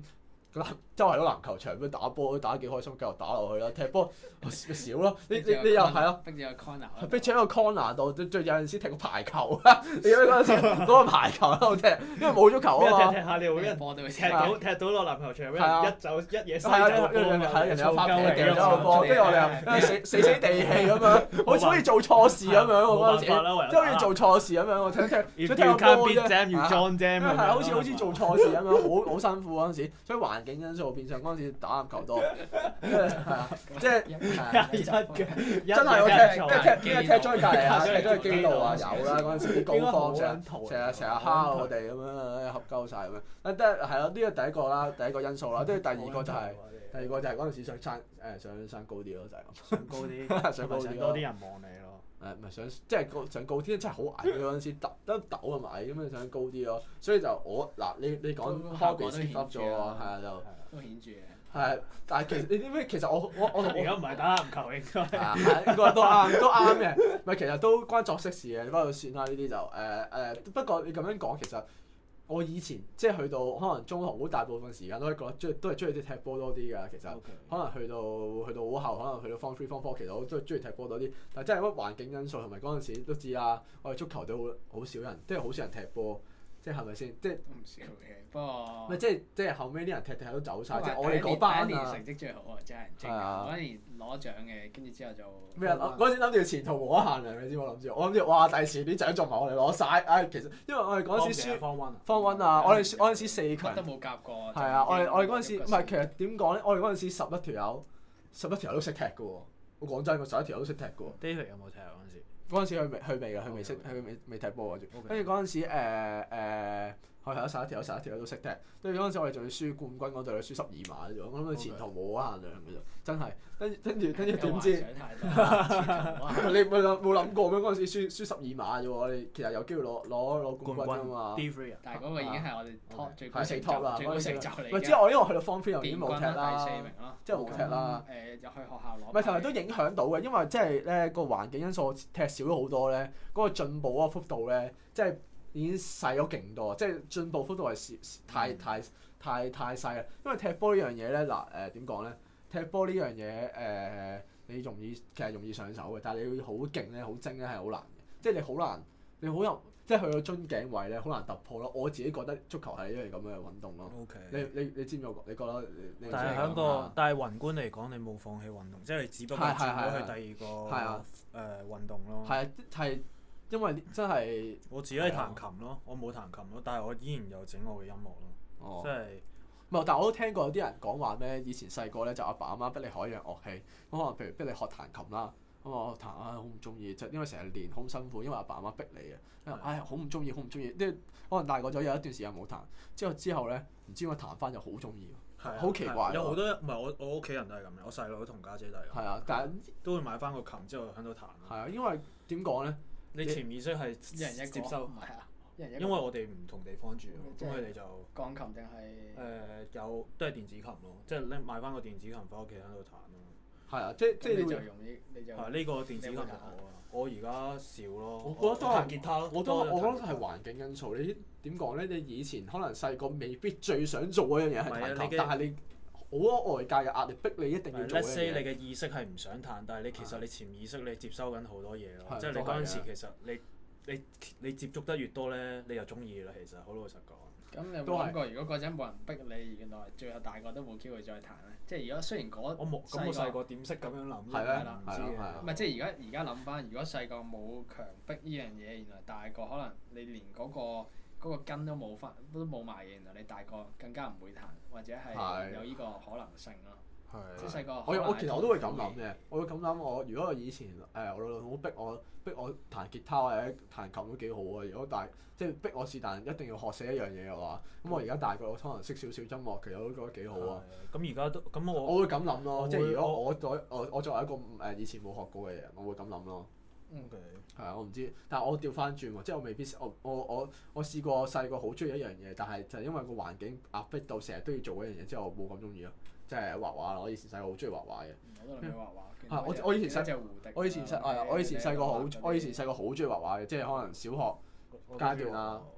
S1: 周圍都籃球場咁打波，打得幾開心，繼續打落去啦。踢波咪少咯，你又係咯，
S3: 逼住個 corner，
S1: 逼住喺個 corner 度，最有陣時踢個排球啊！你記唔記得嗰陣時嗰個排球喺度踢，因為冇足球啊嘛。
S2: 踢下你會俾人踢到落籃球場，俾人一走一嘢
S1: 係人哋有發脾氣咗個波，跟住我哋又死地氣咁樣，好似做錯事咁樣我嗰陣時，即係好似做錯事咁樣，我踢想踢個波啫，係好似做錯事咁樣，好辛苦嗰陣時，所以環境因素變相嗰陣時打籃球多，係啊，即係真係我踢咗去隔離啊，踢咗去基道啊，有啦嗰陣時啲高方成日蝦我哋咁樣，合鳩晒咁樣。係咯，呢個第一個啦，第一個因素啦，跟住第二個就係嗰陣時想升高啲咯，就係咁。
S2: 上高啲，想多啲人望你咯。
S1: 唔係想高啲，真係好矮嗰陣時，得抖咁矮咁樣想高啲咯，所以就你講 hobby step up 咗喎，係啊就
S3: 都顯著嘅。
S1: 係，但係其實你知唔知？其實我
S2: 而家唔係打籃球應該。
S1: 係應該都啱嘅，唔係其實都關作息事嘅，不過算啦呢啲就不過你咁樣講其實。我以前即係去到可能中學好大部分時間都係覺得都係中意啲踢波多啲㗎，其實可能去到好後，可能去到 Form 3 Form 4，其實我都係中意踢波多啲。但係真係乜環境因素同埋嗰陣時都知啦，我哋足球都好少人，即係好少人踢波，即係係咪先？即係
S3: 唔少嘅，不過
S1: 咪即係後尾啲人踢踢都走晒，即係我哋嗰班
S3: 第一年成績最好啊，真係正啊！嗰年攞獎嘅，跟住之後就
S1: 咩啊？嗰陣時諗住前途無可限量，你知我諗住哇！第時啲獎仲埋我哋攞晒。其實因為我哋嗰陣時輸Form 1啊，我哋嗰陣時4強
S3: 都冇夾過。
S1: 係啊，我哋嗰陣時唔係其實點講咧？我哋嗰陣時11條友都識踢㗎喎。我講真，個11條友都識踢㗎喎。
S2: David 有冇踢啊？嗰陣時？
S1: 嗰陣時佢未㗎，佢未踢波㗎。跟住嗰陣時係有11條都識踢。跟住嗰陣時我哋仲要輸冠軍嗰隊，輸12碼啫喎。我諗佢前途無可限量㗎啫，真係。跟住點知？你冇諗過咩？嗰陣時輸12碼啫喎，我哋其實有機會攞冠軍㗎嘛。
S3: 但係嗰個已經係我哋 top 最高成就嚟嘅。
S1: 唔係之後我因為去到 Form 3又已經冇踢啦，
S3: 第4名咯，
S1: 即係冇踢啦。
S3: 入去學校攞。
S1: 唔係同埋都影響到嘅，因為即係咧個環境因素踢少咗好多咧，嗰個進步嗰個幅度咧，即係已經細咗勁多，即係進步幅度係太細啦。因為踢波呢樣嘢咧，點講咧？踢波呢樣嘢你其實容易上手嘅，但係你要好勁咧、好精咧係好難嘅。即係你好難，你好有即係去到樽頸位咧，好難突破咯。我自己覺得足球係一樣咁嘅運動咯。
S2: Okay.
S1: 你知唔知我？你覺得你？
S2: 但係宏觀嚟講，你冇放棄運動，即係你只不過轉咗去第二個運動咯。
S1: 係因為真係
S2: 我自己係彈琴咯，我冇彈琴咯，但係我依然有整我嘅音樂咯。即係。
S1: 唔係，但係我都聽過有啲人講話咩？以前細個咧就阿爸阿媽逼你學一樣樂器，咁可能譬如逼你學彈琴啦，咁我彈好唔中意，就因為成日練好辛苦，因為阿爸阿媽逼你嘅，好唔中意，即係可能大個咗有一段時間冇彈，之後咧唔知點解彈翻就好中意，好奇怪。
S2: 有好多唔係我屋企人都係咁嘅，我細佬同家姐都係咁。係
S1: 啊，但係
S2: 都會買翻個琴之後喺度彈。
S1: 係啊，因為點講咧？
S2: 你潛意識係一人一接收。因為我哋唔同地方住，咁佢哋就
S3: 鋼琴定係
S2: 有都係電子琴咯，即係拎買翻個電子琴翻屋企喺度彈咯。
S1: 係啊，即係
S3: 你就用呢就
S2: 呢個電子琴就好啊。我而家少咯。
S1: 我覺得都係
S2: 彈吉他咯。
S1: 我覺得係環境因素。你點講咧？你以前可能細個未必最想做嗰樣嘢係彈琴，但係你好多外界嘅壓力逼你一定要做嗰樣嘢。
S2: Let's say 你嘅意識係唔想彈，但係你其實你潛意識你接收緊好多嘢咯。即係你嗰陣時其實你接觸得越多咧，你就中意啦。其實好老實講。
S3: 咁你有冇諗過，如果嗰陣冇人逼你，原來最後大個都冇機會再彈咧？即係如果雖然
S2: 我細個點識咁樣諗？
S1: 係啦，
S3: 唔知嘅。唔係即係而家諗翻，如果細個冇強迫呢樣嘢，原來大個可能你連嗰個根都冇埋嘅，原來你大個更加唔會彈，或者係有呢個可能性咯。即係細個。
S1: 我其實我都會咁諗嘅，我會咁諗。如果我以前我老豆好逼我彈吉他或者彈琴都幾好啊！如果即係逼我是但一定要學死一樣嘢嘅話，咁我而家大個我可能識少少音樂，其實我都覺得幾好啊。
S2: 咁而家都咁
S1: 我會咁諗咯，即係如果我作為一個以前冇學過嘅人，我會咁諗咯。係啊，我唔知，但係我調翻轉喎，即係我未必我試過細個好中意一樣嘢，但係就係因為個環境壓迫到成日都要做嗰樣嘢，之後我冇咁中意咯。即係畫畫啦，我以前細個好中意畫畫嘅。
S3: 我都諗起畫畫。
S1: 我以前細個好中意畫畫嘅，即係可能小學階段啊，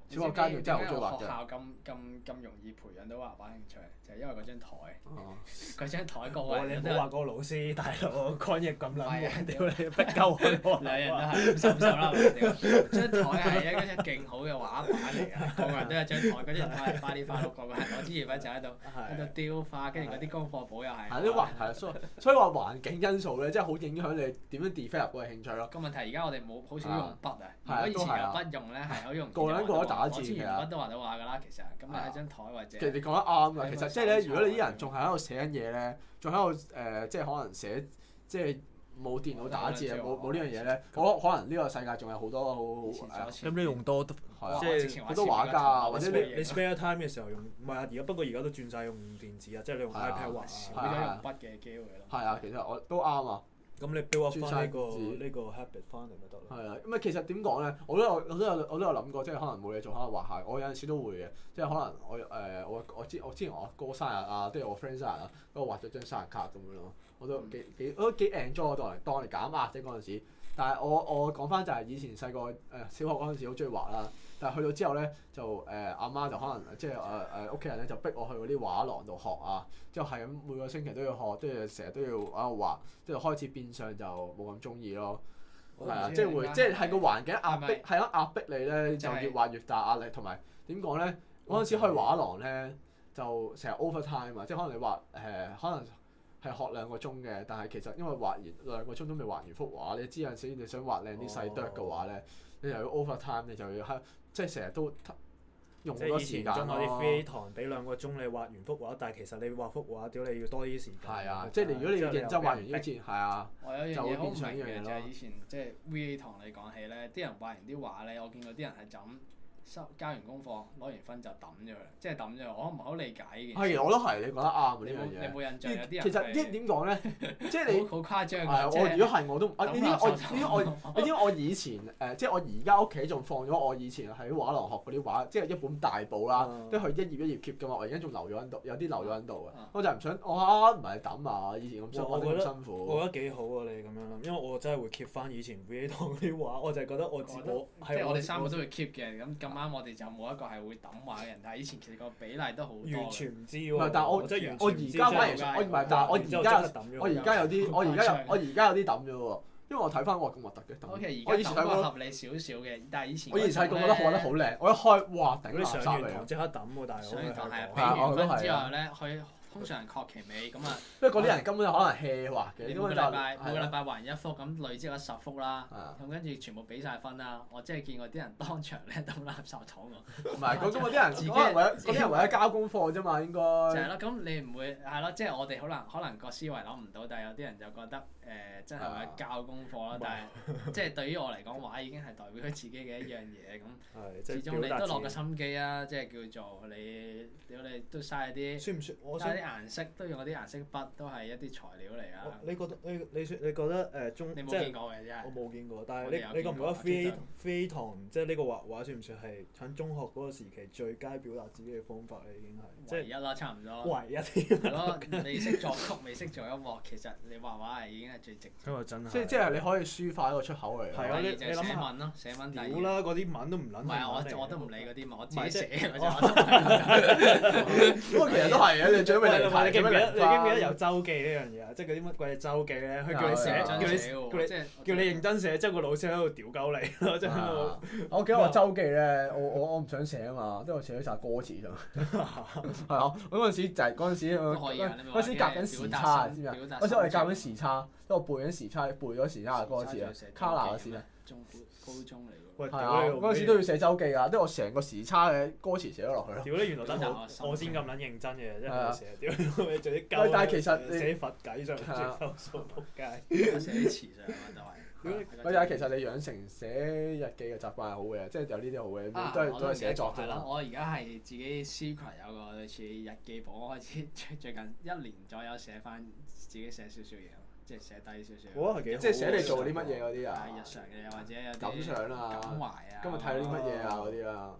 S1: 小學階段真係好中意畫嘅。
S3: 學校咁容易培養到畫畫興趣，就係因為嗰張台。嗰張台個個人
S2: 你唔好話個老師大佬抗疫咁撚，屌你逼鳩我。
S3: 兩人都係50-50啦，張台係一張勁好嘅畫板嚟㗎，個個人都有張台，嗰張台係花里花碌，個個係攞支鉛筆就喺度雕花，跟住嗰啲功課簿又係。
S1: 係啲環係，所以話環境因素咧，真係好影響你點樣 develop 嗰個興趣咯。
S3: 個問題而家我哋冇好少用筆啊，如果以前有筆用咧係好容易。
S1: 個人個都打字
S3: 嘅。鉛筆都畫到畫㗎啦，其實咁你喺張台或者。
S1: 其實你講得啱㗎，其實即係咧，如果你啲人仲係喺度寫緊嘢咧，仲喺度即係可能寫即係冇電腦打字啊，冇呢樣嘢咧，我可能呢個世界仲有好多好
S2: 咁你用多即
S3: 係
S1: 好多畫家啊，或者
S2: 你 spare time 嘅時候用，唔係啊，不過而家都轉晒用電子啊，即係你用 iPad 畫，
S3: 少咗用筆嘅機會咯。
S1: 係啊，其實我都啱啊。
S2: 咁你 build up 翻呢個 habit 翻嚟咪得咯。
S1: 係啊，咁啊其實點講咧？我都有諗過，即係可能冇嘢做，可能畫下。我有陣時都會嘅，即係可能我之前我哥生日啊，即係我 friend 生日啊，咁我畫咗張生日卡咁樣咯。我都幾 enjoy 當嚟減壓啫嗰陣時。但係我講翻就係以前細個小學嗰陣時好中意畫啦。但係去到之後咧，就阿媽就可能即係屋企人咧就逼我去嗰啲畫廊度學啊，之後係咁每個星期都要學，都要成日都要喺度畫，之後開始變相就冇咁中意咯。係啊，即係個環境壓迫，係咯壓迫你咧，就越畫越大壓力，同埋點講咧？嗰陣時去畫廊咧，就成日 overtime 啊，即係可能你畫可能係學2個鐘嘅，但係其實因為畫完2個鐘都未畫完幅畫，你知有陣時你想畫靚啲細剁嘅話咧，你又要 overtime，你就要即係成日都用好多時間咯。
S2: 即係以前中學啲 free 堂俾2個鐘你畫完幅畫，但係其實你畫幅畫屌你要多啲時間。
S1: 係啊，即係如果你要認真畫完呢一節，係啊，
S3: 我有樣嘢好唔明嘅就係以
S1: 咯。
S3: 前即係 VA 堂你講起咧，啲人畫完啲畫咧，我見過啲人係就咁交完功課攞完分就抌咗佢，即係抌咗佢。我唔係好理解呢件事。
S1: 係，我都係，你講得啱啊呢樣嘢。
S3: 你冇印象有啲人
S1: 其實點講咧？即係你
S3: 好誇張
S1: 㗎。我如果係我都你知我以前即係我而家屋企仲放咗我以前喺畫廊學嗰啲畫，即係一本大簿啦，都係一頁一頁 keep 㗎嘛。我而家仲留咗喺度，有啲留咗喺度嘅。我就唔想唔係抌啊！以前咁辛苦。
S2: 我覺得幾好啊！你咁樣諗，因為我真係會 keep 翻以前 VA 堂嗰啲畫，我就係覺得我
S3: 即係我哋3個都會 keep 嘅，咁啱我哋就冇一個係會抌畫嘅人，但係以前其實個比例都好多。
S2: 完全唔知喎。
S1: 唔係，但係我而家反而我唔係，但係我而家有啲抌咗喎，因為我睇翻哇咁核突嘅。
S3: 我以前抌過合理少少嘅，但係以前
S1: 我以前細個覺得畫得好靚，我一開哇頂垃圾嚟㗎。
S2: 上完堂即刻抌喎，大佬。
S3: 上完堂係俾完分之後咧，佢通常學期尾咁啊。
S1: 因為嗰啲人根本就可能 hea 畫嘅。
S3: 每個禮拜畫完1幅，咁累積咗10幅啦。咁跟住全部俾晒分啦。我真係見過啲人當場咧抌垃圾桶喎。
S1: 唔係，嗰啲人為咗交功課啫嘛，應該。
S3: 就係咯，咁你唔會係咯，即係我哋可能個思維諗唔到，但係有啲人就覺得真係為咗交功課啦。但係即係對於我嚟講，畫已經係代表佢自己嘅一樣嘢咁。始終你都落個心機啊，即係叫做你屌你都嘥啲。
S2: 算唔算？
S3: 嘥啲顏色都用嗰啲顏色筆，都係一啲材料嚟啊！
S2: 你覺得你覺得
S3: 你冇見過嘅真係。
S2: 我冇見過，但係你覺唔覺得 free 堂即係呢個畫畫算唔算係喺中學嗰個時期最佳表達自己嘅方法咧？已經係
S3: 唯一啦，差唔多。
S2: 唯一添。
S3: 係咯，你識作曲，未識做音樂，其實你畫畫係已經係最直接。
S2: 因為真係。
S1: 即係你可以抒發一個出口嚟。
S3: 係啊，你寫文咯，寫文。
S2: 屌啦！嗰啲文都唔撚。
S3: 唔係啊，我都唔理嗰啲文，我自己寫嘅啫。
S1: 不過其實都係嘅，你最尾嚟睇。
S2: 你記唔記得有周記呢樣嘢啊？即係嗰啲乜鬼嘢周記咧？佢叫你寫，叫你認真寫，之後個老師喺度屌鳩你咯，即係喺度。
S1: 我記得我周記咧，我唔想寫啊嘛，即係我寫咗曬歌詞咋。係啊，我嗰陣時就係嗰陣時夾緊時差，知唔知啊？嗰陣時我哋夾緊時差，即係我背緊時差，背咗時差嘅歌詞啊，卡拿嘅時啊。
S3: 高中嚟
S2: 喎。
S1: 係啊，嗰陣時都要寫周記㗎，即係我成個時差嘅歌詞寫咗落去咯。
S2: 屌你原來得我先咁撚認真嘅，真係寫。屌你做啲鳩。
S1: 但係其實
S2: 寫佛偈上，寫數仆街。
S3: 寫啲詞上啊，都係。
S1: 但係其實你養成寫日記嘅習慣係好嘅，即係有呢啲好嘅，都係寫作啫嘛。
S3: 我而家係自己 Secret 有個類似日記簿，我開始最近1年左右寫翻自己寫少少嘢，即係寫低少少。
S2: 嗰個係幾好。
S1: 即係寫你做啲乜嘢嗰啲啊？
S3: 日常嘅或者有啲
S1: 感想啊，
S3: 感懷啊。
S1: 今日睇到啲乜嘢啊嗰啲啊。
S3: 係啊，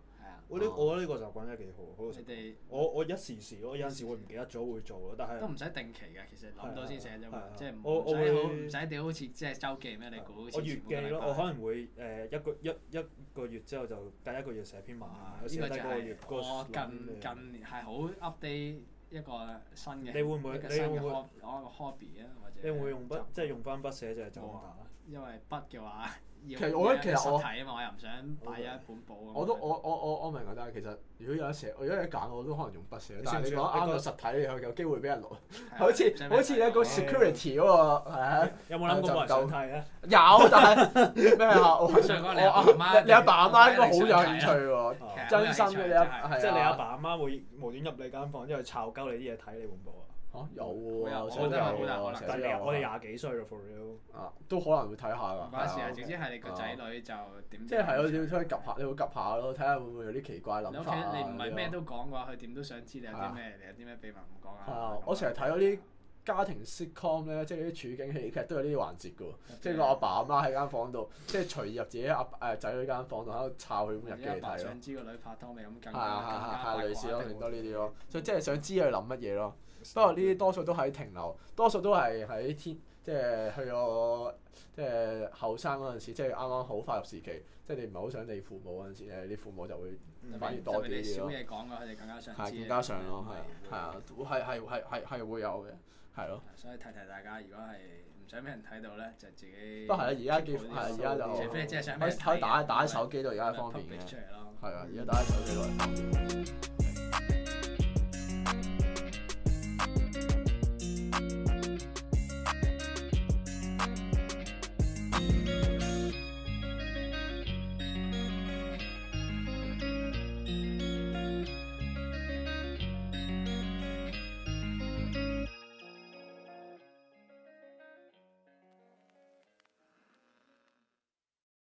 S2: 我覺得呢個習慣真係幾好。
S3: 你哋
S2: 我一時時咯，有陣時會唔記得咗會做咯，但係
S3: 都唔使定期㗎，其實諗到先寫啫嘛，即係
S2: 唔
S3: 使屌好似即係週記咩？你估好似
S2: 我月記咯，我可能會一個月之後就隔一個月寫篇文，
S3: 呢個就係我近年係好 update 一個新嘅，
S2: 你會唔會
S3: 一個 hobby 啊？或者
S2: 你會唔會用筆即係用翻筆寫就係就咁打？
S3: 因為筆嘅話。
S1: 其實我覺得其實
S3: 實體啊嘛，我又唔想擺一本簿。
S1: 我明啊，但係其實如果有得寫，如果有得揀，我都可能用筆寫。但係你講啱個實體，你有機會俾人攞，好似你個 security 嗰個係啊。
S2: 有冇諗過冇人想睇啊？
S1: 有，但係咩啊？你阿爸阿媽應該好有興趣喎，真心嘅你
S2: 即係你阿爸阿媽會無端入你間房之後抄鳩你啲嘢睇你本簿啊？
S1: 有喎，
S3: 我覺得好大可能。
S2: 但係我哋廿幾歲咯 for real。
S1: 都可能會睇下㗎。
S3: 唔關事啊，總之係你個仔女就點？
S1: 即係係咯，你要出去 𥄫 下，你會 𥄫 下咯，睇下會唔會有啲奇怪諗法。
S3: 你唔係咩都講嘅話，佢點都想知你有啲咩，你有啲咩秘密唔講啊？
S1: 係啊，我成日睇嗰啲家庭 sitcom 咧，即係啲處境戲劇都有呢啲環節㗎喎。即係個阿爸阿媽喺間房度，即係隨意入自己仔女間房度喺度抄佢本日記嚟睇咯。
S3: 想知個女拍拖未咁更加
S1: 類似咯，勁多呢啲咯。所以即係想知佢諗乜嘢咯。不過呢啲多數都喺停留，多數都係喺即係去咗即係後生嗰陣時，即係啱啱好發育時期，即係你唔係好想理父母嗰陣時咧，啲父母就會反而多啲咯。
S3: 少嘢講㗎，佢哋更加想知。
S1: 係更加想咯，係啊，係會有嘅，係咯。
S3: 所以提大家，如果係唔想俾人睇到咧，就自己。
S1: 不過係啊，而家而家就
S3: 除非即係想
S1: 可以打喺手機度，而家係方便嘅。係啊，而家打喺手機度係方便。